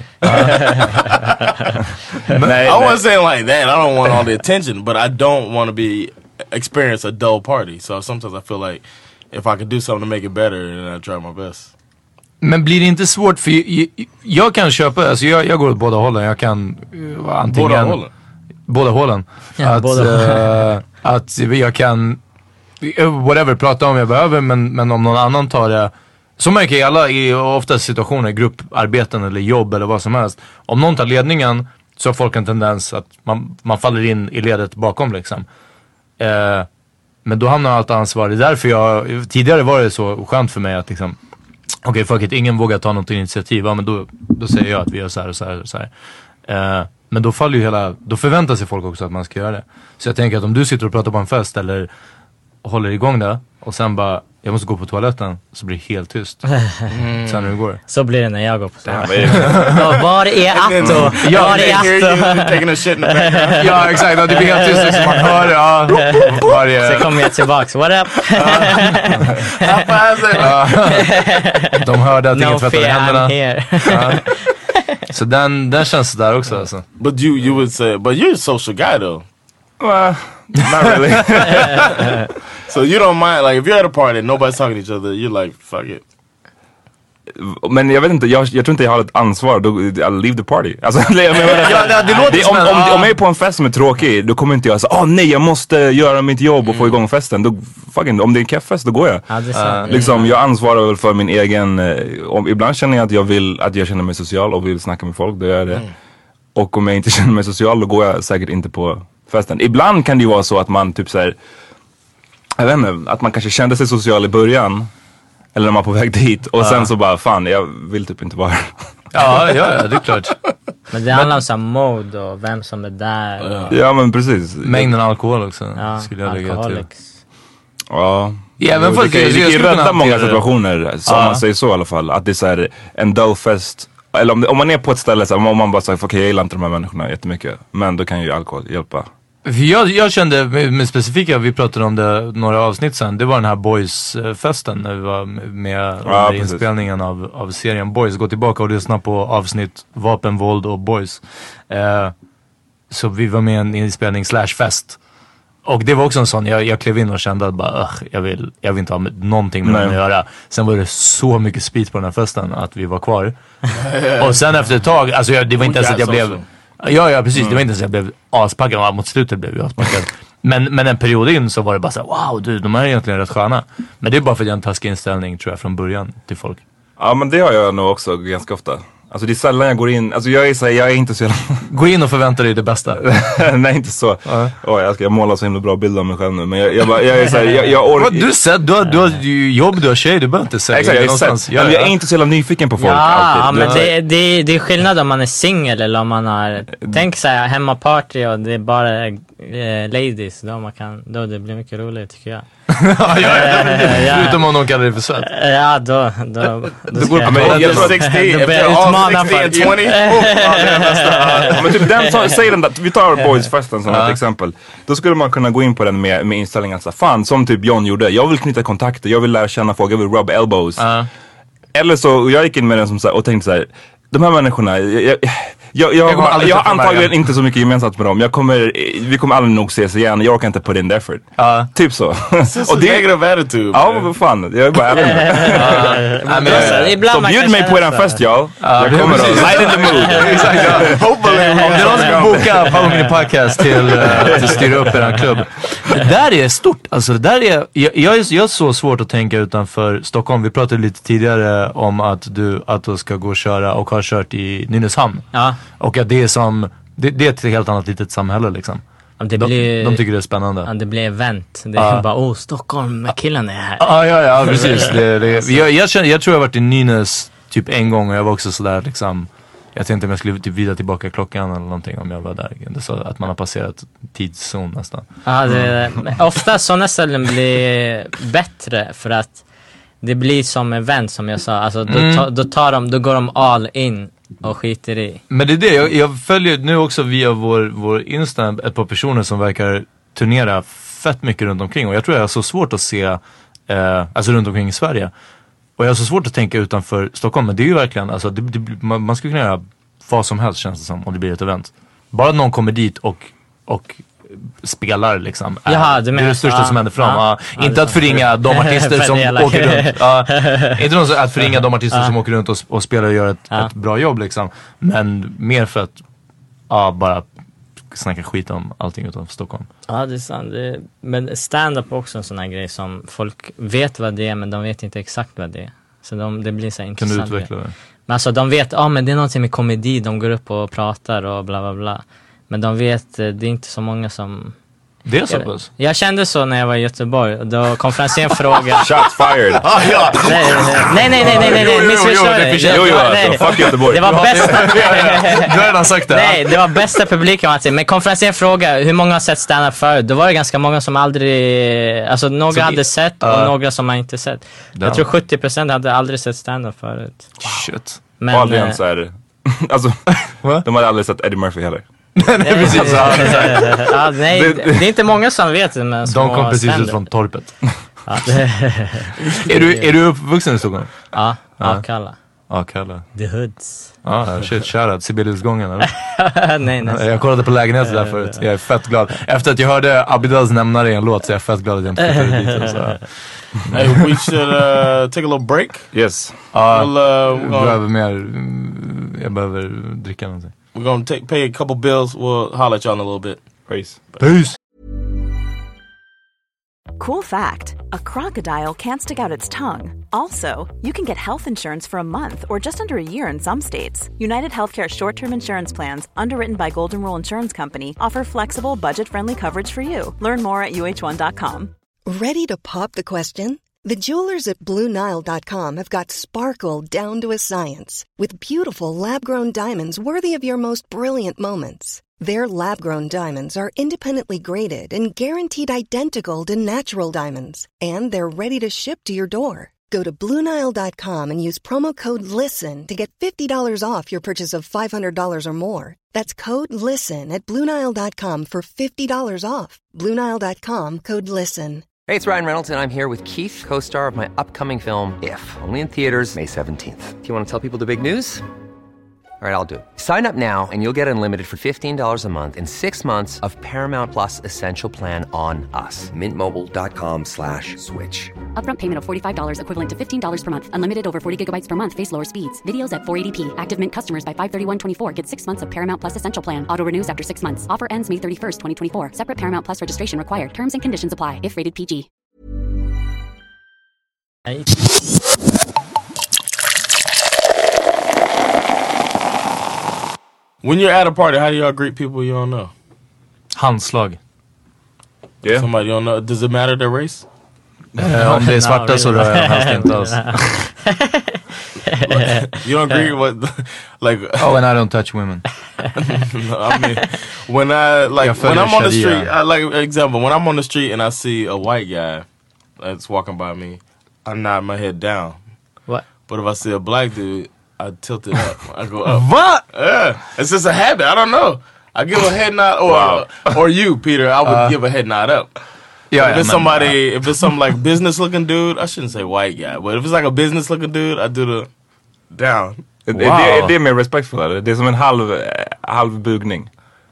Speaker 10: Nej,
Speaker 9: I
Speaker 10: nej.
Speaker 9: wasn't saying like that. I don't want all the attention, but I don't want to be experience a dull party. So sometimes I feel like if I could do something to make it better, then I try my best.
Speaker 7: Men blir det inte svårt för jag, jag kan köpa, alltså jag, jag går åt båda hållen. Jag kan uh, antingen...
Speaker 9: Båda hållen?
Speaker 7: Båda hållen.
Speaker 8: Ja,
Speaker 7: att,
Speaker 8: båda
Speaker 7: eh, att jag kan, eh, whatever, prata om jag behöver, men, men om någon annan tar det. Så märker jag alla i ofta situationer, grupparbeten eller jobb eller vad som helst. Om någon tar ledningen så har folk en tendens att man, man faller in i ledet bakom liksom. Eh, men då hamnar allt ansvar. Det är därför jag, tidigare var det så skönt för mig att liksom, okej, okay, fuck it, ingen vågar ta något initiativ. Ja, men då, då säger jag att vi gör så här och så här och så här. Eh, men då faller ju hela, då förväntar sig folk också att man ska göra det. Så jag tänker att om du sitter och pratar på en fest eller håller igång det och sen bara, jag måste gå på toaletten, så blir det helt tyst. Mm. Sen när du går.
Speaker 8: Så blir det när jag går på
Speaker 10: Ja,
Speaker 8: toaletten.
Speaker 10: men-
Speaker 8: Ja, var är Atto?
Speaker 9: Ja,
Speaker 8: Var
Speaker 9: they
Speaker 8: är
Speaker 9: hear you
Speaker 8: Atto?
Speaker 9: taking a shit in the background.
Speaker 7: Ja, exakt. Det blir helt tyst liksom. Man hör, ja. Varje...
Speaker 8: Så kommer jag tillbaks. What up?
Speaker 7: De hörde att ingen
Speaker 8: No
Speaker 7: tvättade
Speaker 8: fear, I'm
Speaker 7: händerna.
Speaker 8: here.
Speaker 7: Ja. Så den, den känns där också alltså.
Speaker 9: But you, you would say, but you're a social guy though.
Speaker 10: Well, not really.
Speaker 9: So you don't mind, like if you're at a party and nobody's talking to each other, you're like, fuck it.
Speaker 10: Men jag vet inte, jag, jag tror inte jag har ett ansvar. Då, I'll leave the party. Alltså, jag menar,
Speaker 7: Ja, det, det låter
Speaker 10: det,
Speaker 7: som
Speaker 10: om,
Speaker 7: en,
Speaker 10: om,
Speaker 7: ah.
Speaker 10: om jag är på en fest som är tråkig, då kommer inte jag säga, åh oh, nej, jag måste göra mitt jobb och få igång festen. Då, fucking, om det är en keffest, då går jag.
Speaker 8: Ja, det är sant.
Speaker 10: Uh, liksom, jag ansvarar väl för min egen, eh, om, ibland känner jag att jag vill, att jag känner mig social och vill snacka med folk, då gör jag det. Mm. Och om jag inte känner mig social, då går jag säkert inte på festen. Ibland kan det ju vara så att man typ såhär, jag vet inte, att man kanske kände sig social i början. Eller när man är på väg dit. Och uh. sen så bara, fan, jag vill typ inte vara här.
Speaker 7: Ja, ja, ja, det är klart.
Speaker 8: Men det handlar om så här mode och vem som är där. Och...
Speaker 10: Ja, men precis.
Speaker 7: Mängden alkohol också.
Speaker 8: Ja,
Speaker 7: skulle jag lägga till.
Speaker 10: Ja.
Speaker 7: Ja, men folk,
Speaker 10: det kan ju rädda många situationer, som
Speaker 7: ja.
Speaker 10: man säger så i alla fall. Att det är så här en dullfest. Eller om, det, om man är på ett ställe, så här, om man bara säger, okej okay, jag gillar inte de här människorna jättemycket. Men då kan ju alkohol hjälpa.
Speaker 7: Jag, jag kände med, med specifika, vi pratade om det några avsnitt sen. Det var den här Boys-festen när vi var med
Speaker 10: ja,
Speaker 7: under inspelningen av, av serien Boys. Gå tillbaka och lyssna på avsnitt Vapen, våld och Boys. Eh, så vi var med i en inspelning slash fest. Och det var också en sån, jag, jag klev in och kände att bara, jag, vill, jag vill inte ha med, någonting med dem att göra. Sen var det så mycket speed på den här festen att vi var kvar. Och sen efter ett tag, alltså jag, det var inte ens att jag blev... Ja, ja precis, mm. det var inte så jag blev aspackad. Mot slutet blev jag aspackad. men, men en period in så var det bara så här, wow du, de här är egentligen rätt sköna. Men det är bara för att jag har en taskig inställning tror jag från början till folk.
Speaker 10: Ja, men det har jag nog också ganska ofta. Alltså det är sällan jag går in, alltså jag är så här, jag är inte så jävla...
Speaker 7: Gå in och förvänta dig det bästa.
Speaker 10: Nej, inte så. Uh-huh. Oh, jag ska jag måla så himla bra bild av mig själv nu. Men jag, jag, bara, jag är så här, jag, jag orkar...
Speaker 7: Du säger, du har, du har jobb, du har tjej, du behöver inte säga.
Speaker 10: Exakt, jag, är ja, jag är inte så jävla nyfiken på folk
Speaker 8: ja,
Speaker 10: alltid.
Speaker 8: Ja, men det, det, det är skillnad om man är single eller om man har... Tänk så här, hemmaparty och det är bara eh, ladies. Då, man kan, då det blir mycket roligt tycker jag.
Speaker 7: ja, ja, ja. Förutom om någon kallar det för svett.
Speaker 8: Ja, då... då, då,
Speaker 10: då går det på jag sextio, utmana för tjugo. Men typ den, säg den där, vi tar Boys-festen som ett exempel. Då skulle man kunna gå in på den med, med inställningen så fan, som typ John gjorde. Jag vill knyta kontakter, jag vill lära känna folk, jag vill rub elbows. Uh. Eller så, jag gick in med den som så här, och tänkte så här, de här människorna, jag, jag, jag, jag, jag, har, jag har antagligen inte så mycket gemensamt med dem. Jag kommer, vi kommer aldrig nog ses igen. Jag orkar inte put in the effort. Uh. Typ så.
Speaker 9: Och det är negative attitude.
Speaker 10: Ja, vad fan. Jag är bara ärlig. Så bjud mig på er fest, y'all. Jag kommer att light in the mood.
Speaker 7: Hopefully. Om det är någon som bokar Follow Me Podcast till att styra upp er klubb. Det där är stort. Alltså det där är, jag, jag, är, jag är så svårt att tänka utanför Stockholm. Vi pratade lite tidigare om att du, att du ska gå och köra och har kört i Nynäshamn. Ja. Och att det är som, det, det är ett helt annat litet samhälle liksom.
Speaker 8: Det
Speaker 7: de,
Speaker 8: blir,
Speaker 7: de tycker det är spännande.
Speaker 8: Ja, det blir event. Det är uh. bara, åh, Stockholm, med killen är här.
Speaker 7: Ja, ja, ja, precis. det, det, jag, jag, känner, jag tror jag har varit i Nynäs typ en gång och jag var också sådär liksom, jag tänkte om jag skulle typ vrida tillbaka klockan eller någonting om jag var där. Det så att man har passerat tidszon nästan.
Speaker 8: Ja, det, ofta sådana ställen blir bättre för att det blir som event som jag sa. Alltså då, mm. ta, då, tar de, då går de all in och skiter i.
Speaker 7: Men det är det, jag, jag följer nu också via vår, vår Insta ett par personer som verkar turnera fett mycket runt omkring. Och jag tror jag har så svårt att se, eh, alltså runt omkring i Sverige. Och jag har så svårt att tänka utanför Stockholm. Men det är ju verkligen, alltså det, det, man, man skulle kunna göra vad som helst känns det som om det blir ett event. Bara att någon kommer dit och, och spelar liksom.
Speaker 8: Jaha,
Speaker 7: det är det största ja, som händer fram. Ja, ja, inte att förringa de artister som åker runt. Ja, inte någon att förringa de artister som åker runt och, och spelar och gör ett, ja. ett bra jobb liksom. Men mer för att ja, bara snacka skit om allting utanför Stockholm.
Speaker 8: Ja, det är sant. Det, men stand-up är också en sån här grej som folk vet vad det är men de vet inte exakt vad det är. Så de, det blir så intressant.
Speaker 7: Kan du utveckla det?
Speaker 8: Men alltså de vet, ja ah, men det är någonting med komedi, de går upp och pratar och bla bla bla. Men de vet, det är inte så många som...
Speaker 7: Det är så pass?
Speaker 8: Jag, jag kände så när jag var i Göteborg. Då konferensen frågade...
Speaker 10: Shots fired!
Speaker 8: Ah, ja. Nej, nej, nej, nej, nej, nej, nej. Missförstår det.
Speaker 10: Jo, jo, alltså. Fuck Göteborg.
Speaker 8: Det var bästa...
Speaker 7: Du har redan sagt det.
Speaker 8: Nej, det var bästa publiken. Men konferensen frågade hur många har sett stand-up förut. Då var det ganska många som aldrig... Alltså några så hade sett och uh, några som har inte sett. Damn. Jag tror sjuttio procent hade aldrig sett stand-up förut.
Speaker 10: Wow. Shit. Men... Och aldrig ens är... Alltså, de hade aldrig sett Eddie Murphy heller.
Speaker 7: Nej, precis.
Speaker 8: Ja, ja, nej, det, det är inte många som vet det. Men
Speaker 7: de kom precis ständer. Ut från torpet. Ja. är, du, är du uppvuxen i Stockholm?
Speaker 8: Ja, ja. Kalla.
Speaker 7: Ja, Kalle.
Speaker 8: The Hoods.
Speaker 7: Ja, shit, shoutout. Sibeliusgången, eller?
Speaker 8: nej, nej.
Speaker 7: Jag kollade på lägenheten där förut. Jag är fett glad. Efter att jag hörde Abidals nämna det i en låt så jag är fett glad att jag inte flyttade dit. Och så.
Speaker 9: Hey, we should uh, take a little break.
Speaker 10: Yes.
Speaker 7: Ja,
Speaker 9: we'll, uh,
Speaker 7: jag behöver mer... Jag behöver dricka någonting.
Speaker 9: We're gonna take, pay a couple bills. We'll holler at y'all in a little bit.
Speaker 10: Peace.
Speaker 7: Peace.
Speaker 11: Cool fact, a crocodile can't stick out its tongue. Also, you can get health insurance for a month or just under a year in some states. United Healthcare short-term insurance plans, underwritten by Golden Rule Insurance Company, offer flexible, budget-friendly coverage for you. Learn more at U H one dot com.
Speaker 12: Ready to pop the question? The jewelers at Blue Nile dot com have got sparkle down to a science with beautiful lab-grown diamonds worthy of your most brilliant moments. Their lab-grown diamonds are independently graded and guaranteed identical to natural diamonds. And they're ready to ship to your door. Go to Blue Nile dot com and use promo code LISTEN to get fifty dollars off your purchase of five hundred dollars or more. That's code LISTEN at Blue Nile dot com for fifty dollars off. Blue Nile dot com, code LISTEN.
Speaker 13: Hey, it's Ryan Reynolds, and I'm here with Keith, co-star of my upcoming film, If, only in theaters May seventeenth. Do you want to tell people the big news? All right, I'll do it. Sign up now and you'll get unlimited for fifteen dollars a month and six months of Paramount Plus Essential Plan on us. Mint Mobile dot com slash switch.
Speaker 14: Upfront payment of forty-five dollars equivalent to fifteen dollars per month. Unlimited over forty gigabytes per month. Face lower speeds. Videos at four eighty p. Active Mint customers by five thirty-one twenty-four get six months of Paramount Plus Essential Plan. Auto renews after six months. Offer ends May thirty-first, twenty twenty-four. Separate Paramount Plus registration required. Terms and conditions apply if rated P G.
Speaker 9: When you're at a party, how do y'all greet people you don't know?
Speaker 7: Handslag.
Speaker 9: Yeah. Somebody you don't know. Does it matter their race?
Speaker 7: Uh, om det är svarta så rör jag helst inte alls.
Speaker 9: You don't agree with like
Speaker 7: oh, and I don't touch women.
Speaker 9: No, I mean when I like when I'm on the street, I, like example, when I'm on the street and I see a white guy that's walking by me, I nod my head down.
Speaker 8: What?
Speaker 9: But if I see a black dude, I tilt it up. I go up.
Speaker 7: What?
Speaker 9: Yeah, it's just a habit. I don't know. I give a head nod, or wow. or you, Peter. I would uh, give a head nod up. Yeah, if it's somebody, if it's some like business looking dude, I shouldn't say white guy, but if it's like a business looking dude, I do the down.
Speaker 10: Wow. Det, det är mer respectful, eller? Det är som en halv, halv bugning.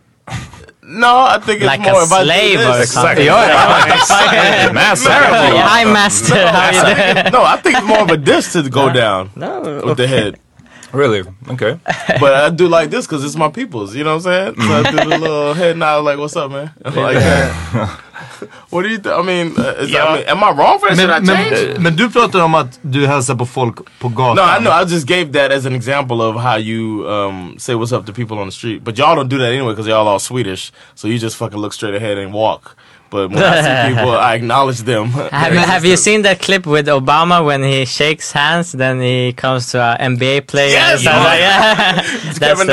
Speaker 9: No, I think it's
Speaker 8: like
Speaker 9: more
Speaker 8: a slave or
Speaker 9: exactly.
Speaker 8: something.
Speaker 9: Yeah,
Speaker 8: master. Hi, master. How you doing?
Speaker 9: No, I think it's more of a dish to go down
Speaker 8: no.
Speaker 9: with the head.
Speaker 10: Really? Okay.
Speaker 9: But I do like this because it's my people's, you know what I'm saying? So I do the little head nod like, what's up, man? Like that. What do you think? I mean, is yeah. that, I mean, am I wrong for that? Should I change?
Speaker 7: Men, men du pratar om att du hälsar på folk på gatan.
Speaker 9: No, I know. I just gave that as an example of how you um, say what's up to people on the street. But y'all don't do that anyway because y'all all Swedish. So you just fucking look straight ahead and walk. But when I see people, I acknowledge them.
Speaker 8: Have, have you seen that clip with Obama when he shakes hands, then he comes to an N B A player?
Speaker 9: Yes!
Speaker 8: And like, yeah.
Speaker 9: It's Kevin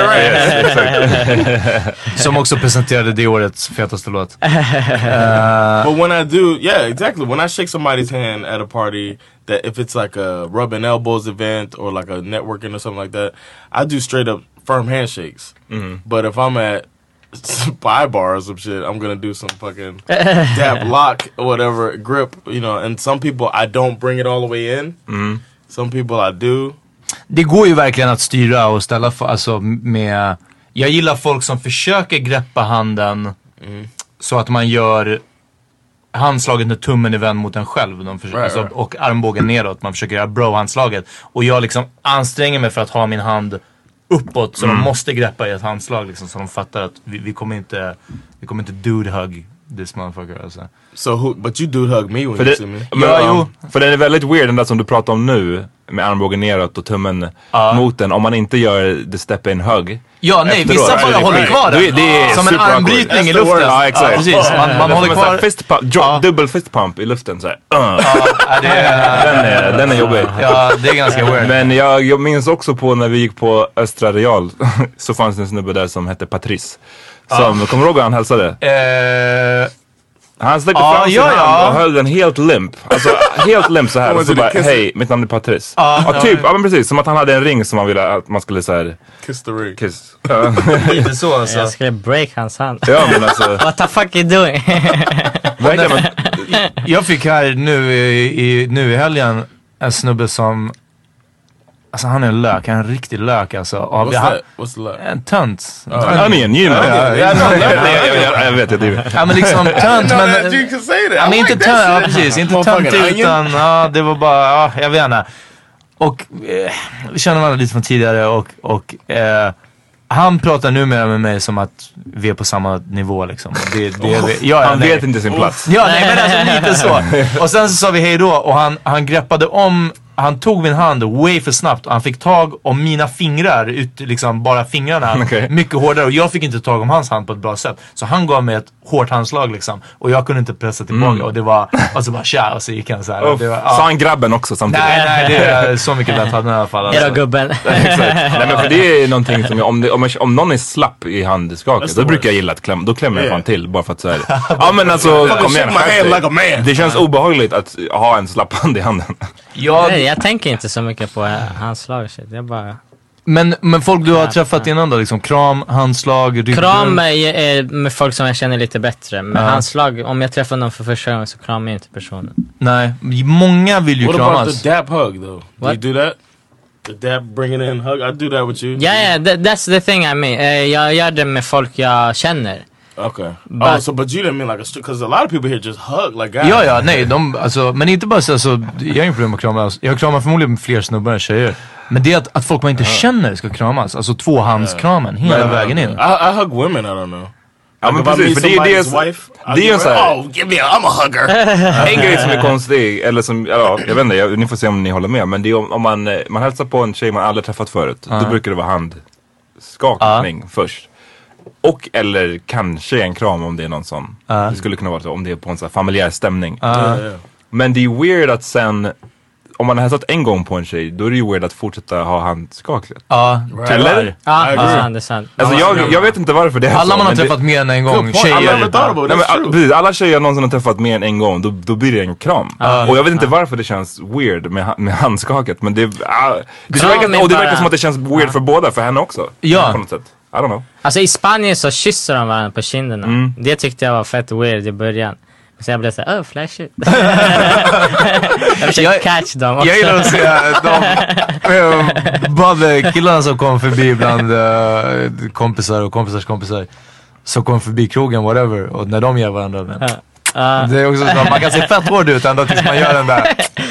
Speaker 9: Durant.
Speaker 7: Som också presenterade det årets fetaste låt. Uh,
Speaker 9: but when I do, yeah, exactly. When I shake somebody's hand at a party, that if it's like a rubbing elbows event or like a networking or something like that, I do straight up firm handshakes. Mm-hmm. But if I'm at spy bar or some shit, I'm gonna do some fucking dab lock or whatever, grip, you know. And some people I don't bring it all the way in. Mm. Some people I do.
Speaker 7: Det går ju verkligen att styra och ställa för, alltså med. Jag gillar folk som försöker greppa handen mm. så att man gör handslaget med tummen i vänd mot en själv. De försöker, right, alltså, right. Och armbågen neråt. Man försöker göra bro-handslaget. Och jag liksom anstränger mig för att ha min hand uppåt så mm. de måste greppa i ett handslag liksom, så de fattar att vi, vi kommer inte vi kommer inte dude hug this motherfucker alltså.
Speaker 9: So who, but you dude hug me when
Speaker 10: för
Speaker 9: you
Speaker 10: det,
Speaker 9: see me.
Speaker 10: Ja, jo. För det är väldigt weird den där som du pratar om nu med armbågen neråt och tummen uh. mot den om man inte gör the step in hug.
Speaker 7: Ja, nej,
Speaker 10: efteråt.
Speaker 7: vissa bara håller kvar den. Det är som en armbrytning i luften.
Speaker 10: Ja, exakt.
Speaker 7: Ja, precis. Man, man håller kvar
Speaker 10: fist pump, drop, ja. Double fist pump i luften så här. Uh.
Speaker 7: Ja, det är,
Speaker 10: den är den är jobbig.
Speaker 7: Ja, det är ganska weird.
Speaker 10: Men jag, jag minns också på när vi gick på Östra Real så fanns det en snubbe där som hette Patrice. Som, ja. Kommer du ihåg han hälsade?
Speaker 7: Eh
Speaker 10: Han sträckte
Speaker 7: ah,
Speaker 10: fram sin
Speaker 7: ja,
Speaker 10: hand
Speaker 7: ja.
Speaker 10: och höll den helt limp. Alltså helt limp så här. Och så bara, hej, mitt namn är Patrice. Ah, ja, typ, ja men precis. Som att han hade en ring som man ville att man skulle så här.
Speaker 9: Kiss the ring.
Speaker 10: Kiss.
Speaker 7: Lite så alltså.
Speaker 8: Jag skulle break hans hand.
Speaker 10: Ja men alltså.
Speaker 8: What the fuck are you doing?
Speaker 10: Verkligen,
Speaker 7: jag fick här nu i, i, nu i helgen en snubbe som Alltså han är en lök, han är en riktig lök alltså. Av,
Speaker 9: What's
Speaker 7: jag,
Speaker 9: that? What's the lök?
Speaker 7: En tönt.
Speaker 10: Oh. Han är en you know. Jag vet det.
Speaker 7: Ja men liksom tönt men...
Speaker 9: You can say that.
Speaker 7: Ja men inte tönt, ja precis. Inte tönt utan, ja det var bara, ja jag vet inte. Och eh, vi känner varandra lite från tidigare och, och eh, han pratar numera med mig som att vi är på samma nivå liksom. Det, det,
Speaker 10: oh,
Speaker 7: det, ja,
Speaker 10: han
Speaker 7: nej.
Speaker 10: vet inte sin plats.
Speaker 7: Ja nej men alltså lite så. Och sen så sa vi hej då och han, han greppade om, han tog min hand way för snabbt och han fick tag om mina fingrar, ut, liksom bara fingrarna, okay. mycket hårdare och jag fick inte tag om hans hand på ett bra sätt. Så han gav mig ett hårt handslag liksom och jag kunde inte pressa tillbaka mm. och det var, alltså bara tja och så gick han så här.
Speaker 10: Oh,
Speaker 7: det var,
Speaker 10: ja. Sa han grabben också samtidigt?
Speaker 7: Nej nej det är så mycket lätt hade i alla fall.
Speaker 8: Alltså. Är det gubben?
Speaker 10: Exakt. Nej men för det är någonting som jag, om, det, om, jag, om någon är slapp i handskaket då brukar jag gilla att klämma, då klämmer jag yeah. fan till bara för att säga ja men alltså kom igen, like det känns obehagligt att ha en slapp hand i handen.
Speaker 8: Ja, nej, jag tänker inte så mycket på handslag. Jag bara...
Speaker 7: Men, men folk du har träffat innan då, liksom kram, handslag, rygg.
Speaker 8: Kram är med folk som jag känner lite bättre. Men ja. handslag, om jag träffar någon för första gången så kramar jag inte personen.
Speaker 7: Nej, många vill ju
Speaker 9: What
Speaker 7: kramas.
Speaker 9: What about the dap hug though? What? Do you do that? The dap bringing in hug? I do that with you.
Speaker 8: Yeah, yeah, that, that's the thing I mean. Uh, jag gör det med folk jag känner.
Speaker 9: Okay. But, oh, so but you didn't mean like a because a lot of people here just hug like guys.
Speaker 7: Ja, ja, nej, de, alltså, men inte bara så, alltså, jag har inget problem att krama. Alltså, jag kramar förmodligen fler snubbar än tjejer. Men det är att, att folk man inte uh. känner ska kramas. Alltså tvåhandskramen uh. hela uh, vägen in.
Speaker 9: I, I hug women, I don't know.
Speaker 10: Ja men precis, för det är det wife, det är ju såhär,
Speaker 9: oh give me a, I'm a hugger.
Speaker 10: En grej som är konstig, eller som, ja, jag vet inte, jag, ni får se om ni håller med. Men det är om, om man, man hälsar på en tjej man aldrig träffat förut uh. Då brukar det vara handskakning uh. först. Och eller kanske en kram om det är någon sån. Uh. Det skulle kunna vara så om det är på en sån här familjär stämning.
Speaker 7: Uh.
Speaker 9: Yeah, yeah.
Speaker 10: Men det är weird att sen, om man har hälsat en gång på en tjej, då är det ju weird att fortsätta ha handskakligt.
Speaker 7: Ja,
Speaker 10: uh, right. Eller?
Speaker 8: Ja, det är sant, det är sant.
Speaker 10: Alltså jag, jag vet inte varför det är
Speaker 7: alla
Speaker 10: så.
Speaker 7: Alla man har träffat det, mer än en gång. Tjejer.
Speaker 10: Nej, men, all, precis, alla tjejer jag någonsin har träffat mer än en gång, då, då blir det en kram. Uh, och jag vet inte uh. varför det känns weird med, med handskaket. Men det, uh, det, verkar, och det verkar som att det känns weird uh. för båda, för henne också.
Speaker 7: Ja.
Speaker 10: På något sätt. I don't know.
Speaker 8: Alltså i Spanien så kysser de varandra på kinderna. Mm. Det tyckte jag var fett weird i början. Så jag blev såhär, oh flash it. Jag försökte catch dem också.
Speaker 7: Jag gillar att se de bara killarna som kom förbi bland uh, kompisar och kompisars kompisar. Som kom förbi krogen, whatever. Och när de gör varandra. Men. Uh. Det är också så att man kan se fett hård ut ända tills man gör den där.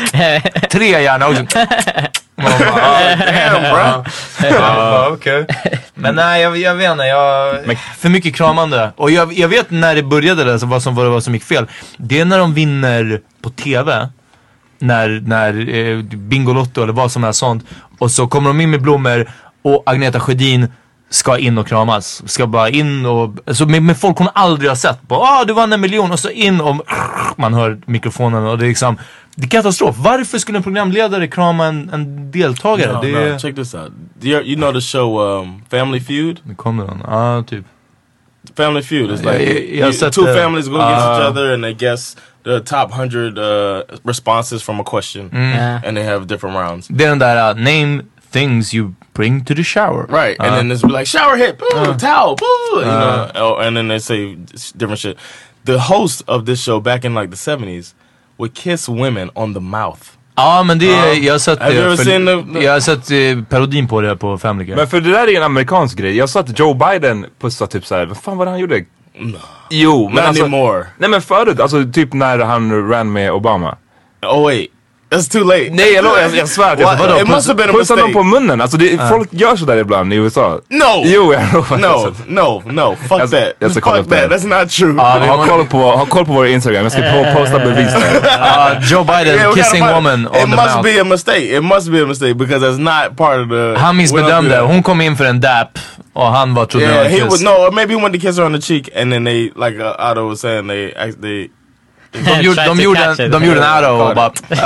Speaker 7: Tre gärna också. Man bara, oh, damn bro. uh, okay. Men nej, jag, jag vet inte. Jag, för mycket kramande. Och jag, jag vet när det började det, så vad som var det vad som gick fel. Det är när de vinner på tv. När, när eh, Bingolotto eller vad som är sånt. Och så kommer de in med blommor. Och Agneta Sjödin ska in och kramas. Ska bara in och... Alltså med, med folk hon aldrig har sett. Bara, ah du vann en miljon. Och så in och... Man hör mikrofonen och det är liksom... Det är katastrof. Varför skulle en programledare krama en, en deltagare?
Speaker 9: No,
Speaker 7: det
Speaker 9: no.
Speaker 7: är...
Speaker 9: Check this out. You, you know the show um, Family Feud?
Speaker 7: Det kommer någon. Ja, ah, typ.
Speaker 9: Family Feud is like...
Speaker 7: Jag, jag, jag
Speaker 9: you, two
Speaker 7: det.
Speaker 9: families go
Speaker 7: uh,
Speaker 9: against each other and they guess the top hundred uh, responses from a question.
Speaker 7: Mm.
Speaker 8: Yeah.
Speaker 9: And they have different rounds.
Speaker 7: Det är den där, uh, name things you bring to the shower.
Speaker 9: Right.
Speaker 7: Uh,
Speaker 9: and then it's like, shower hit, boo, uh, towel, boo, you
Speaker 7: uh,
Speaker 9: know. And then they say different shit. The host of this show back in like the seventies would kiss women on the mouth.
Speaker 7: Ja, men det är, jag har sett,
Speaker 9: Have you ever seen the, the...
Speaker 7: jag har sett eh, parodin på det på Family Guy.
Speaker 10: Men för det där är en amerikansk grej. Jag sa att Joe Biden pussade typ såhär, vad fan var det han gjorde?
Speaker 9: No.
Speaker 10: Jo, men
Speaker 9: Not
Speaker 10: alltså,
Speaker 9: anymore.
Speaker 10: Nej men förut, alltså typ när han ran med Obama.
Speaker 9: Oh wait. That's too late.
Speaker 10: Nej, jag, jag, jag svär att jag
Speaker 9: well, it must have been a
Speaker 10: pussar
Speaker 9: mistake.
Speaker 10: någon på munnen. Alltså det, uh. folk gör sådär ibland i U S A.
Speaker 9: No!
Speaker 10: Jo, jag lovar.
Speaker 9: No, no, no. Fuck
Speaker 10: jag,
Speaker 9: that.
Speaker 10: Jag
Speaker 9: Fuck that. that. That's not true.
Speaker 10: Uh, ha, koll på, ha koll på vår Instagram. Jag ska uh, posta bevis där.
Speaker 7: uh, Joe Biden yeah, kissing woman on
Speaker 9: it
Speaker 7: the mouth.
Speaker 9: It must be a mistake. It must be a mistake because that's not part of the...
Speaker 7: Han missbedömde. Hon kom in för en dap och han var trodde
Speaker 9: yeah, he was, no, maybe he went to kiss her on the cheek and then they, like uh, Otto was saying, they... they
Speaker 7: De gjorde, de gjorde, en, de gjorde en arrow och bara...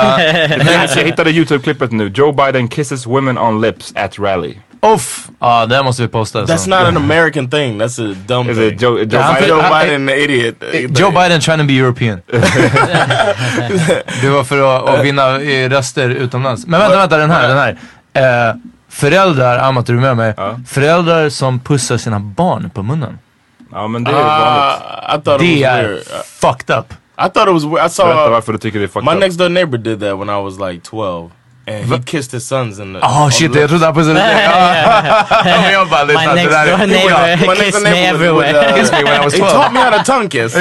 Speaker 7: Uh,
Speaker 10: jag hittade YouTube-klippet nu. Joe Biden kisses women on lips at rally.
Speaker 7: Uff! Ja, uh, det måste vi posta.
Speaker 9: That's
Speaker 7: så.
Speaker 9: not an American thing. That's a dumb
Speaker 10: Is
Speaker 9: thing.
Speaker 10: It Joe, Joe,
Speaker 9: Joe Biden, Joe Biden an idiot.
Speaker 7: Joe Biden trying to be European. Det var för att, att vinna röster utomlands. Men vänta, vänta, den här, den här. Uh, föräldrar, Amat, är du med mig? Uh. Föräldrar som pussar sina barn på munnen.
Speaker 10: Ja, men det är vanligt.
Speaker 9: Uh,
Speaker 7: det är fucked up.
Speaker 9: I thought it was weird. I saw
Speaker 10: varför du tycker det är fucked
Speaker 9: my
Speaker 10: up.
Speaker 9: next door neighbor did that when I was like twelve. And he kissed his sons in the...
Speaker 7: Oh shit, jag trodde han pussade dig. Jag bara lyssnade.
Speaker 8: My next door neighbor kissed me everywhere.
Speaker 7: Kissed me when I was twelve.
Speaker 9: He taught me how to tongue kiss.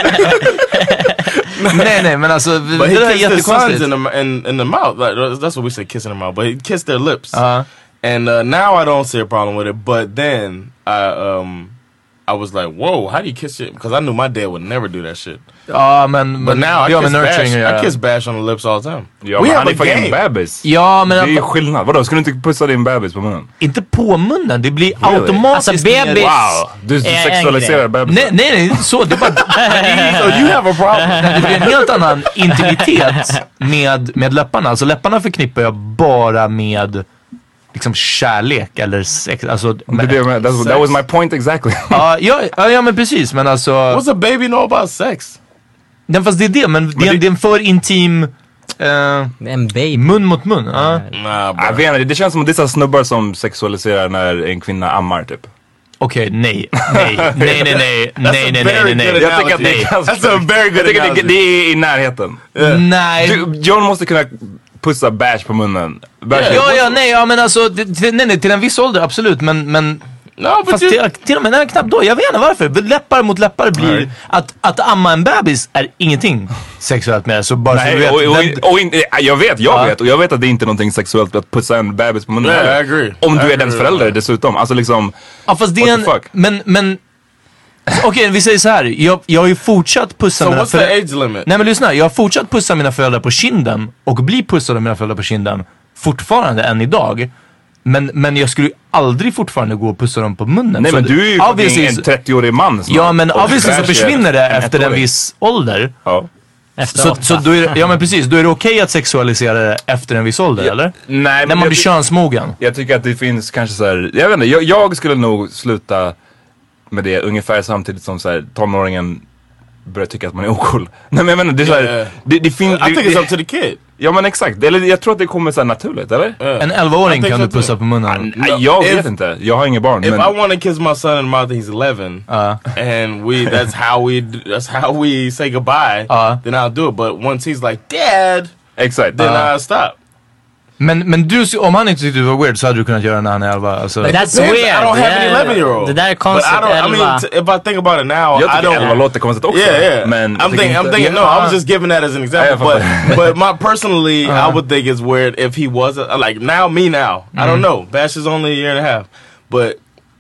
Speaker 7: nej, nej, men alltså...
Speaker 9: But he kissed his sons in the, in, in the mouth. Like, that's what we say, kissing their mouth. But he kissed their lips.
Speaker 7: Uh-huh.
Speaker 9: And uh, now I don't see a problem with it. But then I um I was like, whoa, how do you kiss it? Because I knew my dad would never do that shit.
Speaker 7: Ja, men...
Speaker 9: But now I kiss, bash,
Speaker 7: ja.
Speaker 9: I kiss Bash on the lips all the time.
Speaker 10: Ja, men han är fucking bebis.
Speaker 7: Ja, men...
Speaker 10: Det är ju skillnad. Vadå, ska du inte pussa din bebis på munnen?
Speaker 7: Inte på munnen, det blir really? automatiskt...
Speaker 8: Alltså bebis...
Speaker 10: Wow, du sexualiserar bebis.
Speaker 7: Nej, nej, nej, så det bara...
Speaker 9: So you have a problem.
Speaker 7: Det blir en helt annan intimitet med, med läpparna. Alltså läpparna förknippar jag bara med... liksom kärlek eller sex, alltså
Speaker 10: men, det, det, that, that was my point exactly.
Speaker 7: Ja, ja, ja, ja men precis, men alltså
Speaker 9: what's a baby know about sex?
Speaker 7: Den fast det är det, men, men det, det är en för intim uh,
Speaker 8: en baby
Speaker 7: mun mot mun. Uh.
Speaker 9: Nah,
Speaker 10: jag vet inte, det känns som att det är snubbar som sexualiserar när en kvinna ammar typ.
Speaker 7: Okej, okay, nej, nej, nej, nej, nej, nej, nej, nej, nej.
Speaker 10: Jag tycker att det är ganska...
Speaker 9: That's a very good
Speaker 10: jag tycker det, det är i närheten.
Speaker 7: Yeah. Nej.
Speaker 10: Du, John måste kunna pussa Bash på munnen. Bash
Speaker 7: yeah. Ja, ja, nej, ja, men alltså till, nej, nej, till en viss ålder, absolut, men, men
Speaker 9: no,
Speaker 7: fast
Speaker 9: you...
Speaker 7: till, till och med, nej, knappt då, jag vet inte varför. Läppar mot läppar blir, right. att, att amma en bebis är ingenting sexuellt med, så bara
Speaker 10: nej,
Speaker 7: så du vet.
Speaker 10: Och, och,
Speaker 7: den...
Speaker 10: och, och, jag vet, jag
Speaker 7: ja.
Speaker 10: vet, och jag vet att det är inte någonting sexuellt att pussa en bebis på munnen.
Speaker 9: Yeah, I agree.
Speaker 10: Om du
Speaker 9: I
Speaker 10: är dens
Speaker 9: agree.
Speaker 10: förälder dessutom, alltså liksom...
Speaker 7: Ja, fast det är en, men, men okej, okay, vi säger så här. Jag, jag har ju fortsatt pussa
Speaker 9: so
Speaker 7: mina
Speaker 9: what's the age limit?
Speaker 7: Nej men lyssna, jag har fortsatt pussa mina föräldrar på kinden och bli pussad av mina föräldrar på kinden fortfarande än idag. Men, men jag skulle aldrig fortfarande gå och pussa dem på munnen.
Speaker 10: Nej,
Speaker 7: så
Speaker 10: men du är ju
Speaker 7: obviously,
Speaker 10: en trettio-årig man snart.
Speaker 7: Ja, men obviously så försvinner det efter en viss ålder.
Speaker 10: Ja.
Speaker 7: Så, så då är, ja men precis, då är det okej okay att sexualisera det efter en viss ålder, ja, eller?
Speaker 10: Nej,
Speaker 7: när man blir könsmogen.
Speaker 10: Jag tycker att det finns kanske så här, jag vet inte, jag, jag skulle nog sluta med det ungefär samtidigt som så här, tonåringen börjar tycka att man är ocool. Nej men jag menar, det är så här,
Speaker 9: yeah.
Speaker 10: det, det finns...
Speaker 9: I think it's up to the kid.
Speaker 10: Ja men exakt, eller jag tror att det kommer så här naturligt, eller?
Speaker 9: Yeah.
Speaker 7: En elva-åring kan du pussa på munnen.
Speaker 10: No, jag vet if, inte, jag har inga barn.
Speaker 9: If
Speaker 10: men...
Speaker 9: I want to kiss my son in the mouth, he's eleven, uh. and we that's how we that's how we say goodbye. Uh. Then I'll do it. But once he's like, Dad,
Speaker 10: exakt,
Speaker 9: then
Speaker 10: uh.
Speaker 9: I'll stop.
Speaker 7: Men, men du, om han inte tyckte det var weird så hade du kunnat göra när han är elva. Alltså.
Speaker 8: But that's weird.
Speaker 9: I don't have an eleven year old.
Speaker 8: Det där är konstigt.
Speaker 9: But I don't, I mean, t- if I think about it now,
Speaker 10: jag
Speaker 9: I don't.
Speaker 10: elva låter konstigt också.
Speaker 9: Yeah, yeah.
Speaker 10: Men
Speaker 9: I'm thinking, I'm thinking. No, I was just giving that as an example. But, but my personally, uh-huh. I would think it's weird if he wasn't like now. Me now, mm-hmm. I don't know. Bash is only a year and a half, but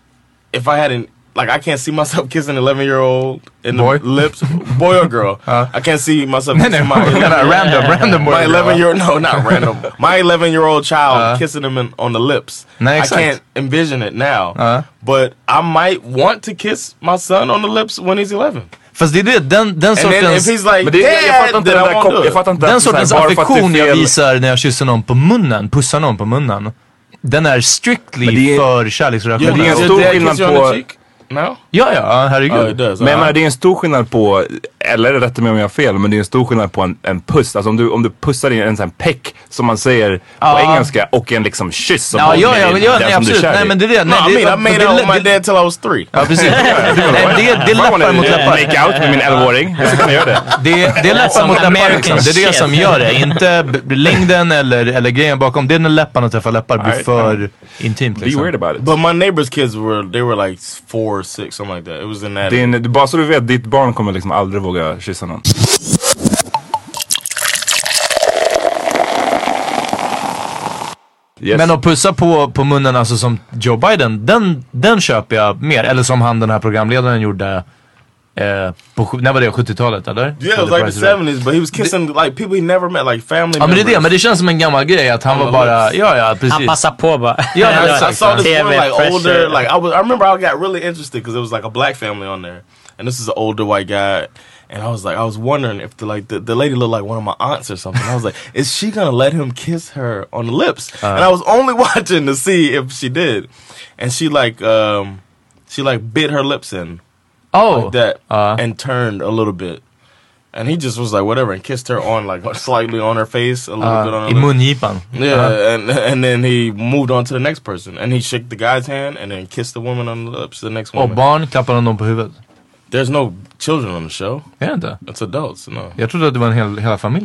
Speaker 9: if I hadn't. Like I can't see myself kissing an eleven-year-old in
Speaker 7: boy?
Speaker 9: the lips, boy or girl. Uh, I can't see myself kissing my
Speaker 7: random, random boy.
Speaker 9: My eleven-year-old, no, not random. My eleven-year-old child uh, kissing him in, on the lips.
Speaker 7: Nej,
Speaker 9: I can't envision it now.
Speaker 7: Uh.
Speaker 9: But I might want to kiss my son on the lips when he's eleven.
Speaker 7: Fast det är det, den, den sortens...
Speaker 9: If he's like,
Speaker 10: det,
Speaker 9: Dad,
Speaker 10: jag fattar inte den där kop- jag fattar inte
Speaker 7: den sortens affektion jag visar när jag kysser någon på munnen, pussar någon på munnen. Den är strictly är, för kärleksrelationer.
Speaker 10: Det är en stor skillnad på...
Speaker 9: No?
Speaker 7: Ja, ja, herregud.
Speaker 9: Oh, does,
Speaker 10: men jag menar, det är en stor skillnad på, eller rätta mig om jag har fel, men det är en stor skillnad på en, en puss. Alltså om du, om du pussar in en sån här peck som man säger på
Speaker 7: ah.
Speaker 10: engelska och en liksom kyss som
Speaker 7: ja, ja, ja,
Speaker 10: är,
Speaker 7: ja, nej, absolut. Nej, men det är det.
Speaker 9: No,
Speaker 7: Nej,
Speaker 9: I mean, I made out with my dad till I was three.
Speaker 7: Ja, precis. Nej, det, det är läppar mot läppar.
Speaker 10: Make out med min elva-åring. Så kan jag göra det.
Speaker 7: Det, det är läppar mot läppar liksom. Det är det som gör det. Inte längden eller, eller grejen bakom. Det är när läpparna träffar läppar blir för intimt liksom.
Speaker 10: Be weird about it.
Speaker 9: But my neighbor's kids were, they were like four, six, something like that. It was in that.
Speaker 10: Din, bara så du vet, ditt barn kommer liksom aldrig våga kyssa någon. Yes.
Speaker 7: Men att pussa på, på munnen alltså som Joe Biden, den, den köper jag mer. Eller som han, den här programledaren gjorde eh, på, när var det, sjuttiotalet eller?
Speaker 9: Yeah, it was like the seventies, but he was kissing like people he never met, like family
Speaker 7: ja, men det är det, men det känns som en gammal grej att han var bara, ja ja precis.
Speaker 8: Han passar på bara.
Speaker 9: Ja, I, I saw this one like older, like I was, I remember I got really interested because it was like a black family on there. And this is an older white guy. And I was like, I was wondering if the like the, the lady looked like one of my aunts or something. I was like, is she gonna let him kiss her on the lips? Uh, and I was only watching to see if she did. And she like um she like bit her lips in.
Speaker 7: Oh,
Speaker 9: like that.
Speaker 7: Uh,
Speaker 9: and turned a little bit. And he just was like whatever and kissed her on like slightly on her face, a little
Speaker 7: uh,
Speaker 9: bit on her
Speaker 7: i mungipan.
Speaker 9: Yeah,
Speaker 7: uh-huh.
Speaker 9: and and then he moved on to the next person. And he shook the guy's hand and then kissed the woman on the lips, the next woman.
Speaker 7: Och barn klappar honom på huvudet.
Speaker 9: There's no children on the show.
Speaker 7: Är det inte?
Speaker 9: It's adults, no.
Speaker 7: Jag trodde att det var en hel, hela familjen.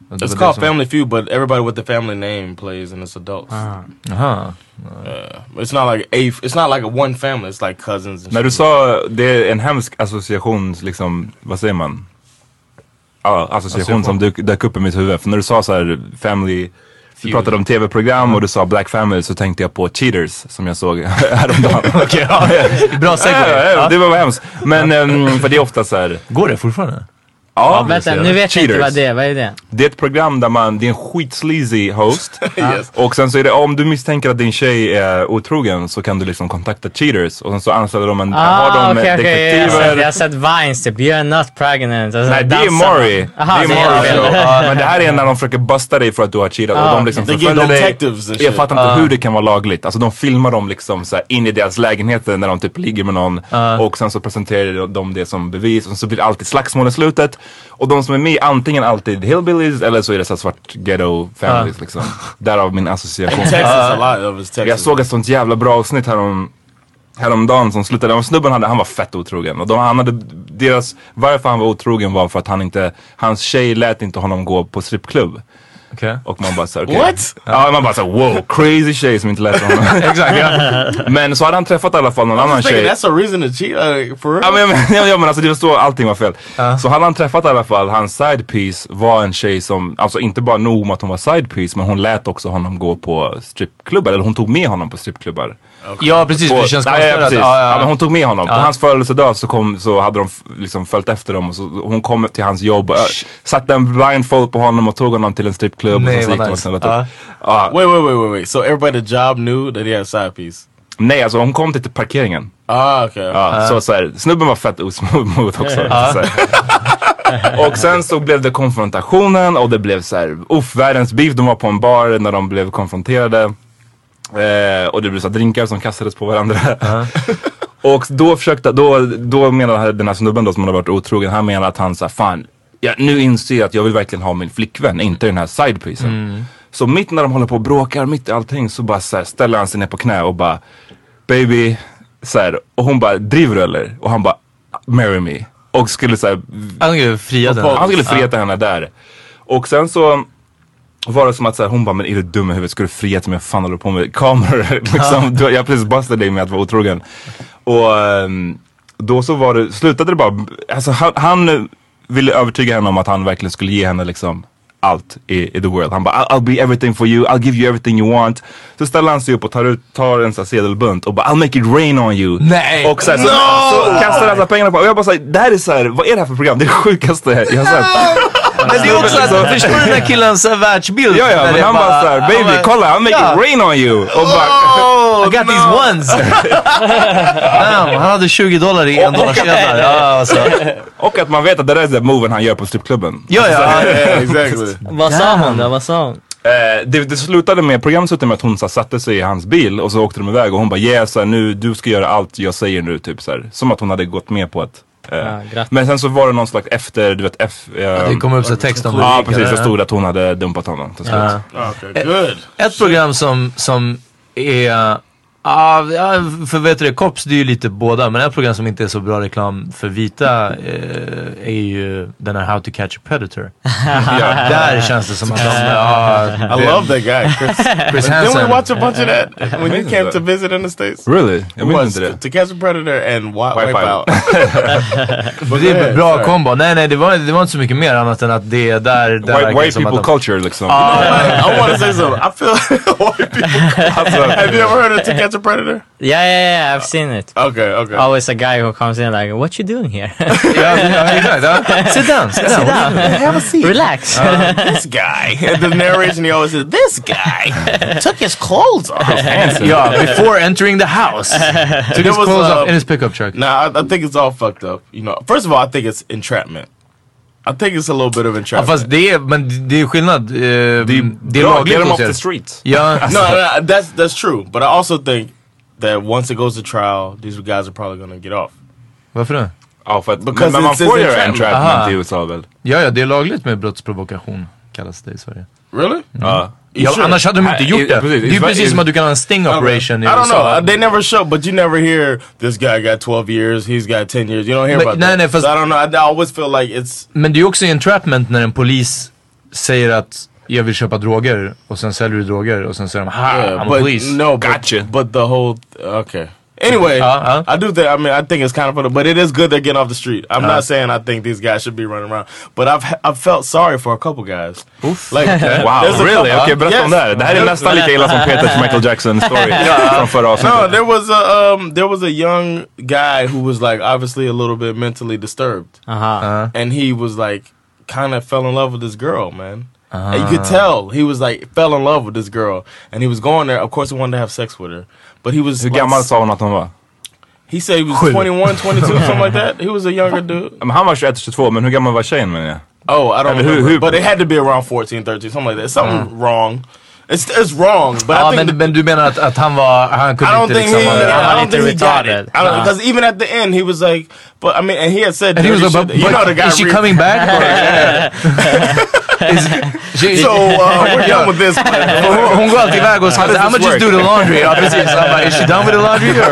Speaker 9: It's called Family Feud, but everybody with the family name plays and it's adults.
Speaker 7: Aha.
Speaker 9: Uh, it's not like a, it's not like a one family. It's like cousins. And
Speaker 10: När du sa det är en hemsk association, liksom, vad säger man? Ja, association som dök, dök upp i mitt huvud. För när du sa så här family, du pratade om tv-program och du sa Black Family, så tänkte jag på Cheaters som jag såg häromdagen.
Speaker 7: Okej, ja. Bra segway.
Speaker 10: Ja, ja, det var hemskt. Men um, för det är ofta så här.
Speaker 7: Går det fortfarande?
Speaker 8: Ja, vänta, nu vet jag inte vad det är. Vad är det?
Speaker 10: Det är ett program där man, det är en skitsleazy host. Yes. Och sen så är det, om du misstänker att din tjej är otrogen så kan du liksom kontakta Cheaters. Och sen så anställer de en,
Speaker 8: ah,
Speaker 10: har de
Speaker 8: okay,
Speaker 10: detektiver.
Speaker 8: Okay, jag har sett Vines typ, you're not pregnant. Alltså,
Speaker 10: nej, det är Maury. Aha, det är Maury show. uh, Men det här är när de försöker busta dig för att du har cheatat. Ah, och de liksom förföljer dig. Jag fattar inte uh. hur det kan vara lagligt. Alltså de filmar dem liksom så här in i deras lägenheter när de typ ligger med någon. Uh. Och sen så presenterar de det som bevis. Och så blir det alltid slagsmål i slutet. Och de som är med antingen alltid hillbillies eller så är det så svart ghetto families uh. liksom. Därav min association.
Speaker 9: Texas, uh. a lot of Texas.
Speaker 10: Jag såg ett sånt jävla bra avsnitt härom, häromdagen som slutade. Och snubben hade, han var fett otrogen. Och de, han hade, deras, varför han var otrogen var för att han inte, hans tjej lät inte honom gå på strippklubb.
Speaker 7: Okay.
Speaker 10: Och man bara såhär, okay.
Speaker 9: What?
Speaker 10: Ja, man bara såhär, wow, crazy tjej som inte lät honom. Exakt, ja. Men så hade han träffat i alla fall någon annan tjej.
Speaker 9: That's a reason to cheat, uh, for real?
Speaker 10: Ja men, ja, ja, men alltså det var så, allting var fel. Uh. Så hade han träffat i alla fall, hans side piece var en tjej som, alltså inte bara nog om att hon var side piece, men hon lät också honom gå på strippklubbar. Eller hon tog med honom på strippklubbar.
Speaker 7: Okay. Ja precis,
Speaker 10: på,
Speaker 7: det känns
Speaker 10: nej, ja, precis.
Speaker 7: Ja, ja.
Speaker 10: Ja, men hon tog med honom.
Speaker 7: Ja.
Speaker 10: På hans födelsedag så, kom, så hade de f- liksom följt efter dem. Och så, hon kom till hans jobb och äh, satte en blindfold på honom och tog honom till en strippklubb.
Speaker 7: Nej,
Speaker 10: och så gick
Speaker 7: nice.
Speaker 10: de och
Speaker 7: uh.
Speaker 10: uh.
Speaker 9: Wait, wait, wait, wait, wait. So everybody at the job knew that he had a side piece?
Speaker 10: Nej, alltså hon kom till parkeringen.
Speaker 9: Ah, okej. Okay.
Speaker 10: Ja, uh. Så såhär, snubben var fett osmooth också. Uh. Och sen så blev det konfrontationen och det blev såhär, uff, världens beef. De var på en bar när de blev konfronterade. Eh, och det blev så drinkar som kastades på varandra. Uh-huh. Och då försökte, då, då menade den här snubben då som hade varit otrogen, han menade att han sa, fan, ja, nu inser jag att jag vill verkligen ha min flickvän, inte den här sidepiecen. Mm. Så mitt när de håller på och bråkar, mitt i allting, så bara så här, ställer han sig ner på knä och bara, baby, så här, och hon bara, driver du eller? Och han bara, marry me. Och skulle så här,
Speaker 7: han skulle fria henne.
Speaker 10: Han skulle fria henne där. Och sen så var det som att så här, hon bara, men är du dum i huvudet? Ska du fria till mig? Fan håller du på med kameror? liksom, du, jag precis bastade dig med att vara otrogen. Och um, då så var det, slutade det bara, alltså han, han ville övertyga henne om att han verkligen skulle ge henne liksom allt i, i the world. Han bara, I'll, I'll be everything for you, I'll give you everything you want. Så ställer han sig upp och tar, ut, tar en sån här sedelbunt och bara, I'll make it rain on you.
Speaker 7: Nej!
Speaker 10: Och så, här, så, no! så kastar han så pengarna på. Och jag bara såhär, det här är så här, vad är det här för program? Det är det sjukaste jag har sett.
Speaker 7: Men det är också att, förstår du den här killens världsbild?
Speaker 10: Ja, ja, men han bara såhär, baby, bara, kolla, I'll make ja. it rain on you. Och bara,
Speaker 7: oh, I got no. these ones. Damn, han hade tjugo dollar i en dollar sedlar. Ja, alltså.
Speaker 10: Och att man vet att det är den moven han gör på strippklubben.
Speaker 7: Ja, ja,
Speaker 9: ja, exactly.
Speaker 8: Vad sa hon då? Vad sa hon?
Speaker 10: Eh, det, det slutade med, programmet slutade med att hon så, satte sig i hans bil och så åkte de iväg och hon bara, yeah, så här, nu, du ska göra allt jag säger nu, typ så här. Som att hon hade gått med på att Uh, ja, men sen så var det någon slags efter, du vet, F... Uh,
Speaker 7: det kom upp så text om det.
Speaker 10: Ja, precis. Det stod att hon hade dumpat honom till slut.
Speaker 9: Uh. Okay, good.
Speaker 7: Ett, ett program som, som är... Ja, uh, för vet du det, Cops, det är ju lite båda. Men ett program som inte är så bra reklam för vita uh, är ju den här How to Catch a Predator. Ja, där känns det som att de... Uh,
Speaker 9: I love that guy, Chris. Chris Hansen. Didn't we watch a bunch of that when you came to visit in the States?
Speaker 10: Really? Jag minns inte det.
Speaker 9: To Catch a Predator and Wipe, wipe Out.
Speaker 7: Men det är en bra kombo. Nej, nej, det var, det var inte så mycket mer annat än att det är där... där
Speaker 10: white white people de... culture, liksom.
Speaker 9: Uh, I want to say something. I feel white people culture. Have you ever heard of To Catch a Predator?
Speaker 8: Yeah, yeah, yeah, I've seen it.
Speaker 9: Okay, okay.
Speaker 8: Always a guy who comes in like, what you doing here?
Speaker 7: yeah, yeah, exactly. Sit down, sit down.
Speaker 8: Sit down.
Speaker 9: Have a seat.
Speaker 8: Relax.
Speaker 9: Uh, this guy. The narration, he always says, this guy took his clothes off.
Speaker 7: Yeah, before entering the house. Took his was, clothes uh, off in his pickup truck.
Speaker 9: Nah, I, I think it's all fucked up. You know, first of all, I think it's entrapment. I think it's a little bit of entrapment.
Speaker 7: Ja, fast det är, men det är skillnad. Uh, det är,
Speaker 10: det är lagligt. Get them off the streets.
Speaker 7: Yeah.
Speaker 9: no, no, that's, that's true. But I also think that once it goes to trial, these guys are probably going to get off.
Speaker 7: Varför det?
Speaker 10: Ja, för att men, men man får göra entrapment i U S A väl?
Speaker 7: Ja, ja, det är lagligt med brottsprovokation, kallas det i Sverige.
Speaker 9: Really?
Speaker 10: Mm. Ja.
Speaker 7: Ja, annars hade de inte gjort det. Det är ju precis som att du kan ha en sting operation i U S A.
Speaker 9: I don't know, they never show, but you never hear this guy got twelve years, he's got ten years. You don't hear
Speaker 7: men,
Speaker 9: about
Speaker 7: nej,
Speaker 9: that.
Speaker 7: Nej, fast,
Speaker 9: so I don't know, I always feel like it's...
Speaker 7: Men det är också entrapment när en polis säger att jag vill köpa droger och sen säljer du droger och sen säger de ha,
Speaker 9: Yeah,
Speaker 7: I'm
Speaker 9: but
Speaker 7: a police.
Speaker 9: no, but,
Speaker 10: Gotcha.
Speaker 9: But the whole okay. Anyway,
Speaker 7: Uh, uh.
Speaker 9: I do think. I mean, I think it's kind of funny, but it is good they're getting off the street. I'm
Speaker 7: Uh.
Speaker 9: not saying I think these guys should be running around, but I've I've felt sorry for a couple guys.
Speaker 7: Oof.
Speaker 9: Like,
Speaker 10: Wow,
Speaker 9: there's a
Speaker 10: really?
Speaker 9: couple-
Speaker 10: Okej, berätta
Speaker 9: Yes.
Speaker 10: om det här. Det här är nästan lika illa som Peters Michael Jackson story från förra avsnittet.
Speaker 9: No, there was a um, there was a young guy who was like obviously a little bit mentally disturbed,
Speaker 8: Aha.
Speaker 7: Uh,
Speaker 9: and he was like kind of fell in love with this girl, man. And you
Speaker 7: Ah.
Speaker 9: could tell he was like fell in love with this girl, and he was going there. Of course, he wanted to have sex with her, but he was
Speaker 10: Hur
Speaker 9: like,
Speaker 10: gammal sa hon att hon var?
Speaker 9: he said he was twenty-one, twenty-two, something like that. He was a younger dude.
Speaker 10: Men han var tjugoett tjugotvå, men hur gammal var tjejen menar jag?
Speaker 9: Oh, I don't
Speaker 10: Eller hur-
Speaker 9: remember,
Speaker 10: hur-
Speaker 9: but it had to be around fourteen, thirteen, something like that. Something wrong. It's it's wrong, but
Speaker 7: ja,
Speaker 9: I think
Speaker 7: men, men du menar att, att han var, han
Speaker 9: I
Speaker 7: kunde
Speaker 9: don't
Speaker 7: inte
Speaker 9: think
Speaker 7: liksom...
Speaker 9: he.
Speaker 7: vara-
Speaker 9: I don't think he got
Speaker 8: retarded.
Speaker 9: it. I don't
Speaker 7: Uh.
Speaker 9: because even at the end he was like, but I mean, and he had said,
Speaker 7: And he was
Speaker 9: dirty
Speaker 7: like, but,
Speaker 9: shit. You know
Speaker 7: but
Speaker 9: the guy.
Speaker 7: is she
Speaker 9: re-
Speaker 7: coming back? Or, is, she,
Speaker 9: So uh, we're done with this.
Speaker 7: hon, hon går alltid iväg och säger I'm gonna just do the laundry. Ja, precis. I'm like, is she done with the laundry? Or,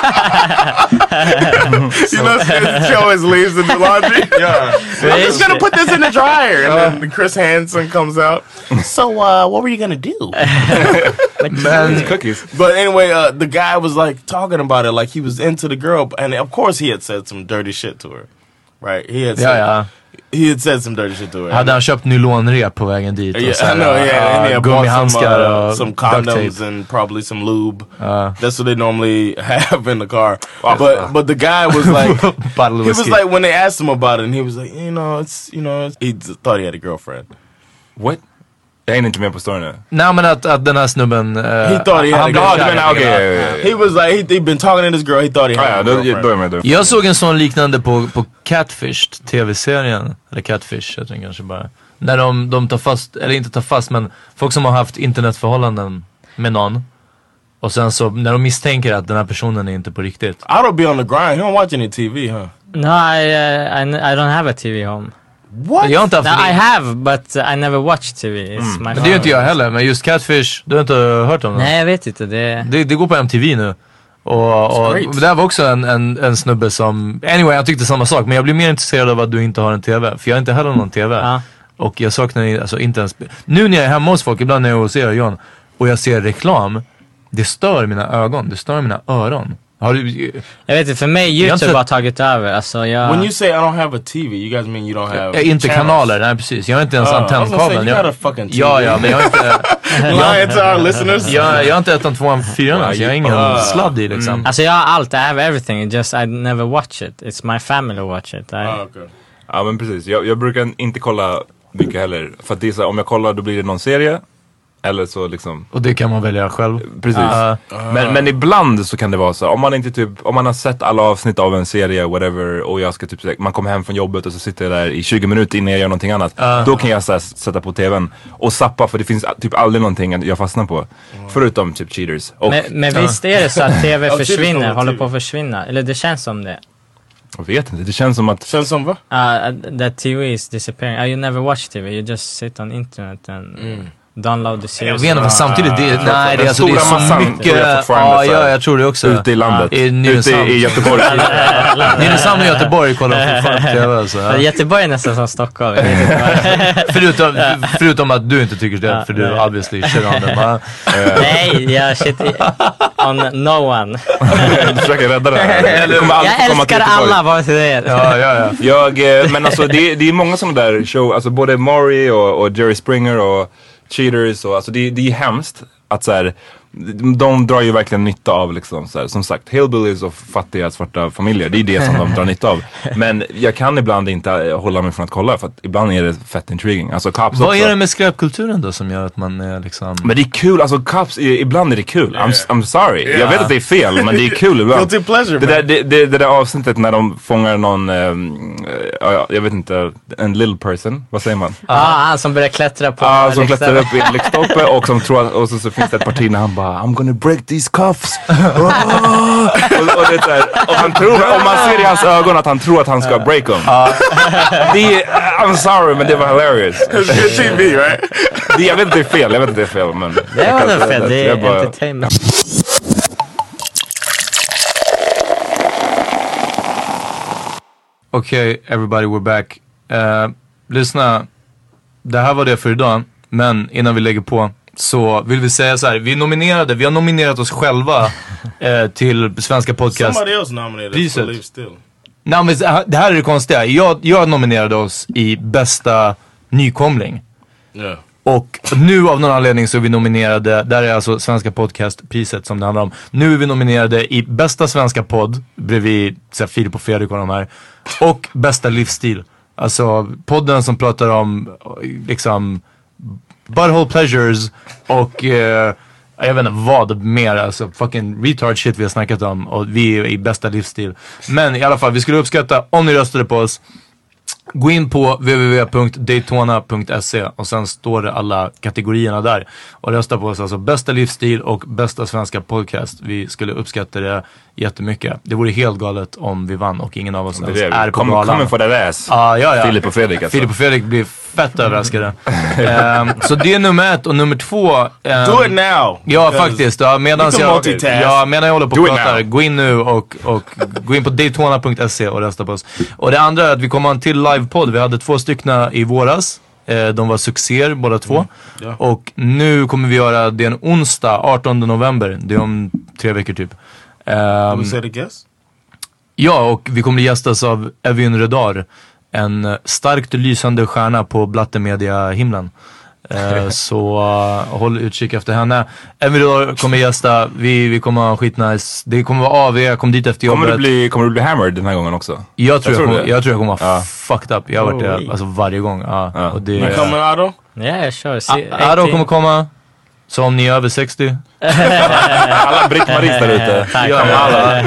Speaker 9: You know, she always leaves in the laundry. Yeah, I'm just gonna put this in the dryer, and then Chris Hansen comes out. So, uh, what were you gonna do?
Speaker 7: men,
Speaker 10: Cookies.
Speaker 9: But anyway, uh, the guy was like talking about it, like he was into the girl, and of course he had said some dirty shit to her, right? He had
Speaker 7: ja,
Speaker 9: said,
Speaker 7: ja.
Speaker 9: he had said some dirty shit to her.
Speaker 7: Hade han köpt nylonrep på vägen dit? Och
Speaker 9: Yeah,
Speaker 7: så
Speaker 9: I
Speaker 7: här,
Speaker 9: know. Yeah, and he
Speaker 7: uh,
Speaker 9: had bought some,
Speaker 7: gummihandskar
Speaker 9: uh,
Speaker 7: och
Speaker 9: some
Speaker 7: duct
Speaker 9: condoms
Speaker 7: tape.
Speaker 9: and probably some lube.
Speaker 7: Uh.
Speaker 9: That's what they normally have in the car. But but the guy was like,
Speaker 7: Bottle of
Speaker 9: he was
Speaker 7: whiskey.
Speaker 9: like when they asked him about it, and he was like, you know, it's you know, it's, he just thought he had a girlfriend.
Speaker 10: What? Jag hänger inte med på storyn nu.
Speaker 7: Nej, men att, att den här snubben... Uh,
Speaker 9: He thought he had
Speaker 7: han
Speaker 9: a
Speaker 7: blev
Speaker 10: Ja,
Speaker 7: kär
Speaker 10: du
Speaker 7: i
Speaker 10: menar,
Speaker 7: henne.
Speaker 10: okej. ja, ja, ja.
Speaker 9: He was like, he, he'd been talking to this girl. He thought he had
Speaker 10: Ja, ja,
Speaker 9: a
Speaker 10: då
Speaker 9: girlfriend.
Speaker 10: då är jag med.
Speaker 7: Jag såg en sån liknande på, på Catfish, tv-serien. Eller Catfish, jag tror kanske bara. När de, de tar fast, eller inte tar fast, men folk som har haft internetförhållanden med någon. Och sen så, när de misstänker att den här personen är inte på riktigt.
Speaker 9: I don't be on the grind. He don't watch any T V, huh?
Speaker 8: No, I, uh, I, n- I don't have a T V home.
Speaker 9: What?
Speaker 7: Jag har inte haft
Speaker 8: No,
Speaker 7: det.
Speaker 8: I have, but uh, I never watch T V. It's my
Speaker 7: Men det är ju inte jag heller, men just Catfish, du har inte hört om det?
Speaker 8: Nej, jag vet inte. Det...
Speaker 7: Det, det går på M T V nu. Och, och
Speaker 9: great.
Speaker 7: det där var också en, en, en snubbe som, anyway jag tyckte samma sak, men jag blir mer intresserad av att du inte har en T V. För jag har inte heller någon T V.
Speaker 8: Ja.
Speaker 7: Och jag saknar alltså inte ens, nu när jag är hemma hos folk, ibland när jag är hos er och John, och jag ser reklam, det stör mina ögon, det stör mina öron. Har du,
Speaker 8: Jag vet inte, för mig
Speaker 7: Jag har
Speaker 8: YouTube
Speaker 7: inte-
Speaker 8: har tagit över. Alltså, jag...
Speaker 9: When you say I don't have a T V, you guys mean you don't have
Speaker 7: jag, inte
Speaker 9: channels?
Speaker 7: kanaler, nej precis. Jag har inte ens
Speaker 9: Oh, I was gonna say,
Speaker 7: antennkabeln.
Speaker 9: you
Speaker 7: Jag-
Speaker 9: got a fucking T V.
Speaker 7: Ja, ja, men jag har inte...
Speaker 9: Lying to our listeners.
Speaker 7: jag, jag har inte ettan, tvåan, fyran, alltså. Jag har ingen
Speaker 9: Uh,
Speaker 7: sladd i liksom.
Speaker 8: Alltså jag har allt, I have everything, it just I never watch it. It's my family watch it. I...
Speaker 9: Oh, okay.
Speaker 10: Ja men precis, jag, jag brukar inte kolla mycket heller. För att det är så här, om jag kollar då blir det någon serie. Eller så liksom.
Speaker 7: Och det kan man välja själv.
Speaker 10: Precis.
Speaker 7: Uh,
Speaker 10: Men, men ibland så kan det vara så, om man inte typ, om man har sett alla avsnitt av en serie, whatever, och jag ska typ, så- man kommer hem från jobbet och så sitter jag där i tjugo minuter innan jag gör någonting annat.
Speaker 7: Uh.
Speaker 10: Då kan jag så här, sätta på tvn och zappa, för det finns typ aldrig någonting jag fastnar på. Förutom typ cheaters. Och,
Speaker 8: Men, men visst är det så att T V
Speaker 9: Ja, Cheaters
Speaker 8: försvinner,
Speaker 9: kommer
Speaker 8: håller
Speaker 9: till.
Speaker 8: på att försvinna? Eller det känns som det.
Speaker 10: jag vet inte, det känns som att
Speaker 9: Känns som va?
Speaker 8: Uh, that T V is disappearing. Uh, you never watch T V, you just sit on internet and download the
Speaker 7: jag
Speaker 8: series.
Speaker 7: vet inte, men samtidigt, det,
Speaker 10: Ah,
Speaker 7: nej, det,
Speaker 10: den
Speaker 7: alltså, det är
Speaker 10: stora
Speaker 7: så
Speaker 10: massan
Speaker 7: mycket.
Speaker 10: tror jag fortfarande
Speaker 7: Ja,
Speaker 10: så här,
Speaker 7: ja, jag tror det också.
Speaker 10: ute i landet,
Speaker 7: I
Speaker 10: ute
Speaker 7: Nynäshamn.
Speaker 10: i, i Göteborg.
Speaker 7: Nynäshamn och Göteborg kollar fortfarande på T V. Alltså.
Speaker 8: Ja, Göteborg är nästan som Stockholm. Jag vet inte vad-
Speaker 7: Förutom, förutom att du inte tycker det,
Speaker 8: Ja,
Speaker 7: för du
Speaker 8: nej.
Speaker 7: obviously shit on them. va?
Speaker 8: Nej, jag shit i- on no one.
Speaker 10: Du försöker rädda det här. Du kommer aldrig
Speaker 8: Jag
Speaker 10: komma till
Speaker 8: älskar
Speaker 10: Göteborg.
Speaker 8: alla vare sig det är.
Speaker 7: Ja, ja, ja.
Speaker 10: Jag, eh, men alltså det, det är många sådana där show, alltså både Maury och, och Jerry Springer och Cheaters och alltså det, det är hemskt att så här, de, de drar ju verkligen nytta av liksom så här, som sagt, hillbillies och fattiga svarta familjer, det är det som de drar nytta av. Men jag kan ibland inte eh, hålla mig från att kolla, för att ibland är det fett intriguing. Alltså Cops
Speaker 7: Vad
Speaker 10: också.
Speaker 7: är det med skräpkulturen då som gör att man är liksom...
Speaker 10: Men det är kul, alltså Cops, är, ibland är det kul. I'm, I'm sorry, jag
Speaker 9: Yeah.
Speaker 10: vet att det är fel, men det är kul ibland.
Speaker 9: Guilty pleasure,
Speaker 10: Det
Speaker 9: man.
Speaker 10: där, det, det, det där avsnittet när de fångar någon, um, ja, jag vet inte, en little person, vad säger man?
Speaker 8: Ja, han som börjar klättra på
Speaker 10: Ja, som
Speaker 8: riksdagen.
Speaker 10: klättrar upp i en lyktstolpe och som tror att, och så, så finns det ett parti när han bara I'm gonna break these cuffs. Oh! och, och, det är så här, och han tror, om man ser i hans ögon att han tror att han ska break dem. Det är, I'm sorry, men det var hilarious.
Speaker 9: It's good T V, right?
Speaker 10: Det, jag vet inte det är fel, jag vet inte det är fel, men
Speaker 8: Det var väl fel, det
Speaker 10: jag
Speaker 8: är
Speaker 10: bara-
Speaker 8: entertainment.
Speaker 7: Okej, everybody we're back. Uh, lyssna, det här var det för idag. Men innan vi lägger på så vill vi säga så här. Vi nominerade, vi har nominerat oss själva eh, till Svenska Podcast.
Speaker 9: Somebody else nominated
Speaker 7: priset.
Speaker 9: for Live Still.
Speaker 7: Nej, men det här är det konstiga. Jag, jag nominerade oss i bästa nykomling.
Speaker 9: Yeah.
Speaker 7: Och nu av någon anledning så är vi nominerade, där är alltså Svenska Podcastpriset som det handlar om. Nu är vi nominerade i bästa svenska podd, bredvid så här, Filip och Fredrik och de här. Och bästa livsstil. Alltså podden som pratar om liksom butthole pleasures och eh, jag vet inte vad mer, alltså fucking retard shit vi har snackat om. Och vi är i bästa livsstil. Men i alla fall, vi skulle uppskatta om ni röstade på oss. Gå in på w w w punkt daytona punkt se och sen står det alla kategorierna där. Och rösta på oss, alltså bästa livsstil och bästa svenska podcast. Vi skulle uppskatta det jättemycket. Det vore helt galet om vi vann och ingen av oss ens är, är på
Speaker 10: Kom,
Speaker 7: galan.
Speaker 10: Kommer få det läs.
Speaker 7: Ah, ja, ja.
Speaker 10: Filip och Fredrik alltså.
Speaker 7: Filip och Fredrik blir fett överraskade. um, så det är nummer ett och nummer två. Um,
Speaker 9: Do it now!
Speaker 7: Ja, faktiskt. Ja, medan jag, ja, medan jag håller på och pratar, gå in nu och, och gå in på daytona punkt se och rösta på oss. Och det andra är att vi kommer ha en till livepodd. Vi hade två styckna i våras. Eh, de var succéer båda två. Mm. Ja. Och nu kommer vi göra det en onsdag, artonde november. Det är om tre veckor typ. Um,
Speaker 9: Say the guest?
Speaker 7: Ja, och vi kommer gästas av Evin Redar. En starkt lysande stjärna på Blattemedia-himlen. Uh, så uh, håll utkik efter henne. Evin Redar kommer gästa. Vi, vi kommer ha skitnice. Det kommer vara A V. Kom dit efter jobbet.
Speaker 10: Kommer du bli, kommer du bli hammered den här gången också?
Speaker 7: Jag tror jag,
Speaker 10: jag,
Speaker 7: kommer, jag, tror jag kommer vara
Speaker 10: ja.
Speaker 7: fucked up. Jag har varit det alltså, varje gång. Uh,
Speaker 10: ja.
Speaker 7: och det,
Speaker 9: Men kommer Ado?
Speaker 8: Ja, jag kör.
Speaker 7: Ado kommer komma. Så om ni är över sextio.
Speaker 10: Alla Britt-Maris där ute.
Speaker 8: Tack.
Speaker 7: Ja, alla.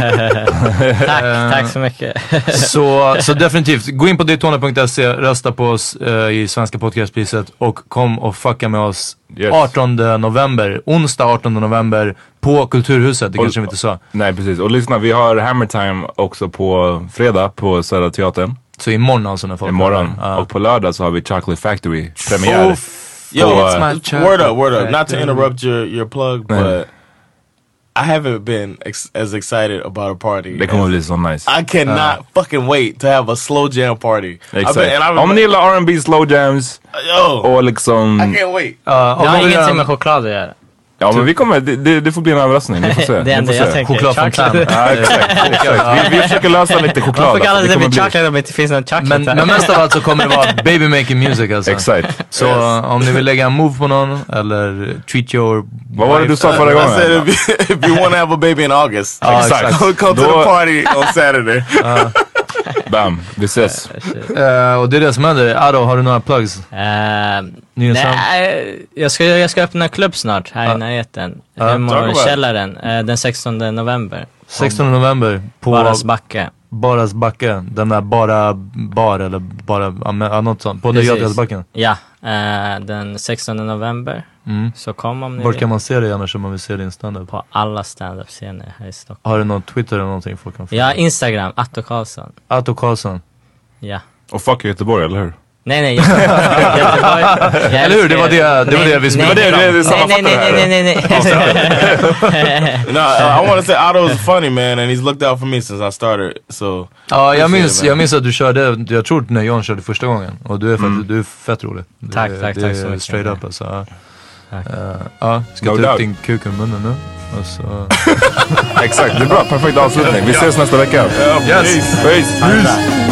Speaker 8: tack, tack så mycket.
Speaker 7: så, så definitivt, gå in på daytona punkt se, rösta på oss uh, i Svenska Podcastpriset och kom och fucka med oss yes. artonde november, onsdag artonde november på Kulturhuset, det och, kanske vi inte sa.
Speaker 10: Nej, precis. Och lyssna, vi har Hammer Time också på fredag på Södra Teatern.
Speaker 7: Så imorgon alltså när folk
Speaker 10: imorgon.
Speaker 7: Uh.
Speaker 10: Och på lördag så har vi Chocolate Factory premiär.
Speaker 9: Oh, Yo, uh, word up, word up. Not to interrupt your, your plug, but mm. I haven't been ex as excited about a party.
Speaker 10: Det kommer bli så nice.
Speaker 9: I cannot uh. fucking wait to have a slow jam party.
Speaker 10: Exakt. Om ni gillar R and B slow jams
Speaker 9: Yo,
Speaker 10: och liksom...
Speaker 9: I can't wait.
Speaker 8: Uh, jag har ingenting med choklad att göra.
Speaker 10: Ja, men vi kommer, det, det, det får bli en överrassning, ni får se.
Speaker 8: Det enda jag tänker
Speaker 7: chokladfontän.
Speaker 10: Ja, exakt, exakt. Vi, vi försöker lösa lite choklad.
Speaker 8: Man får kalla det baby chocolate om det inte finns någon chocolate.
Speaker 7: Men, men mest av allt så kommer det vara baby making music alltså.
Speaker 10: Exakt.
Speaker 7: Så yes. om ni vill lägga en move på någon eller treat your...
Speaker 10: Vad var det du sa förra gången?
Speaker 9: I said if you, if you want to have a baby in August.
Speaker 10: Ah, exakt.
Speaker 9: Come to the party on Saturday.
Speaker 7: uh.
Speaker 10: Bam, vi ses.
Speaker 7: Uh, och det är det som händer. Ado, har du några plugs?
Speaker 8: Uh, nej, jag ska, jag ska öppna klubb snart här uh. i närheten.
Speaker 7: Uh.
Speaker 8: Hemma i källaren. Uh, den sextonde november.
Speaker 7: sextonde november på
Speaker 8: Baras backe.
Speaker 7: Baras backe. Den där bara bar eller bara uh, något sånt. På Götgatsbacken.
Speaker 8: Ja, uh, den sextonde november.
Speaker 7: Mm.
Speaker 8: Så kom om ni
Speaker 7: Var kan man se dig annars om man vill se din stand-up?
Speaker 8: På alla stand-up-scener här i Stockholm.
Speaker 7: Har du någon Twitter eller någonting folk kan få?
Speaker 8: Ja, Instagram, Atto Karlsson.
Speaker 7: Atto Karlsson.
Speaker 8: Ja.
Speaker 10: Och fuck Göteborg, eller hur?
Speaker 8: Nej, nej. Göteborg.
Speaker 7: Eller hur? Det var det, det, var det vi skulle...
Speaker 8: Nej, nej, nej, nej, nej, nej, nej.
Speaker 9: No, I want to say Otto is funny, man, and he's looked out for me since I started, so...
Speaker 7: Ja, jag minns, jag minns att du körde, jag tror när John körde första gången. Och du är, mm. fett, du är fett rolig.
Speaker 8: Tack,
Speaker 7: det,
Speaker 8: tack,
Speaker 7: det
Speaker 8: tack så mycket.
Speaker 7: Straight up, alltså.
Speaker 8: Tack.
Speaker 7: Uh, ja, ska no ta doubt. Upp din kuk i munnen nu. Och så...
Speaker 10: Exakt, det är bra. Perfekt avslutning. Vi ses nästa vecka.
Speaker 7: Yeah, yes.
Speaker 10: Peace. Peace. Peace.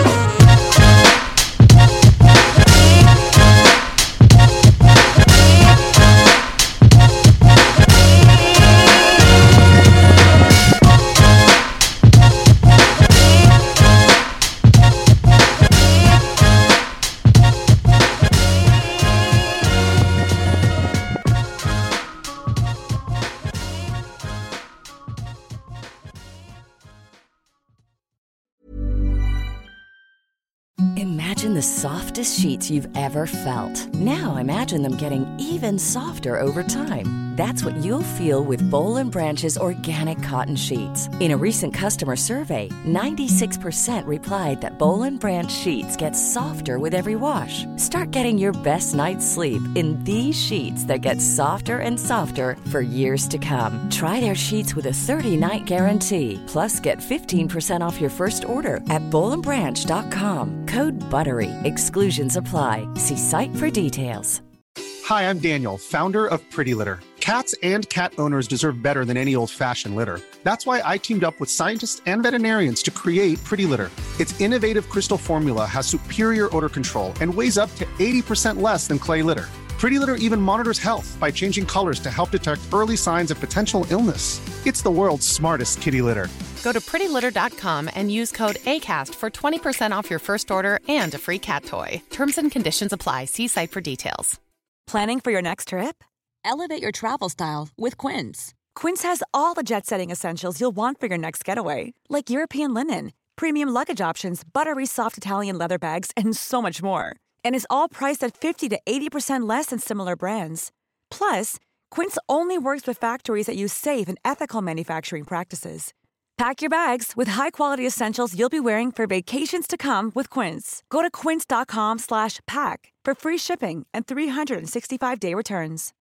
Speaker 15: Imagine the softest sheets you've ever felt. Now imagine them getting even softer over time. That's what you'll feel with Boll and Branch's organic cotton sheets. In a recent customer survey, ninety-six percent replied that Boll and Branch sheets get softer with every wash. Start getting your best night's sleep in these sheets that get softer and softer for years to come. Try their sheets with a thirty-night guarantee. Plus, get fifteen percent off your first order at boll and branch dot com. Code BUTTERY. Exclusions apply. See site for details.
Speaker 16: Hi, I'm Daniel, founder of Pretty Litter. Cats and cat owners deserve better than any old-fashioned litter. That's why I teamed up with scientists and veterinarians to create Pretty Litter. Its innovative crystal formula has superior odor control and weighs up to eighty percent less than clay litter. Pretty Litter even monitors health by changing colors to help detect early signs of potential illness. It's the world's smartest kitty litter.
Speaker 17: Go to pretty litter dot com and use code ACAST for twenty percent off your first order and a free cat toy. Terms and conditions apply. See site for details.
Speaker 18: Planning for your next trip? Elevate your travel style with Quince. Quince has all the jet-setting essentials you'll want for your next getaway, like European linen, premium luggage options, buttery soft Italian leather bags, and so much more. And is all priced at fifty to eighty percent less than similar brands. Plus, Quince only works with factories that use safe and ethical manufacturing practices. Pack your bags with high-quality essentials you'll be wearing for vacations to come with Quince. Go to quince dot com slash pack for free shipping and three sixty-five day returns.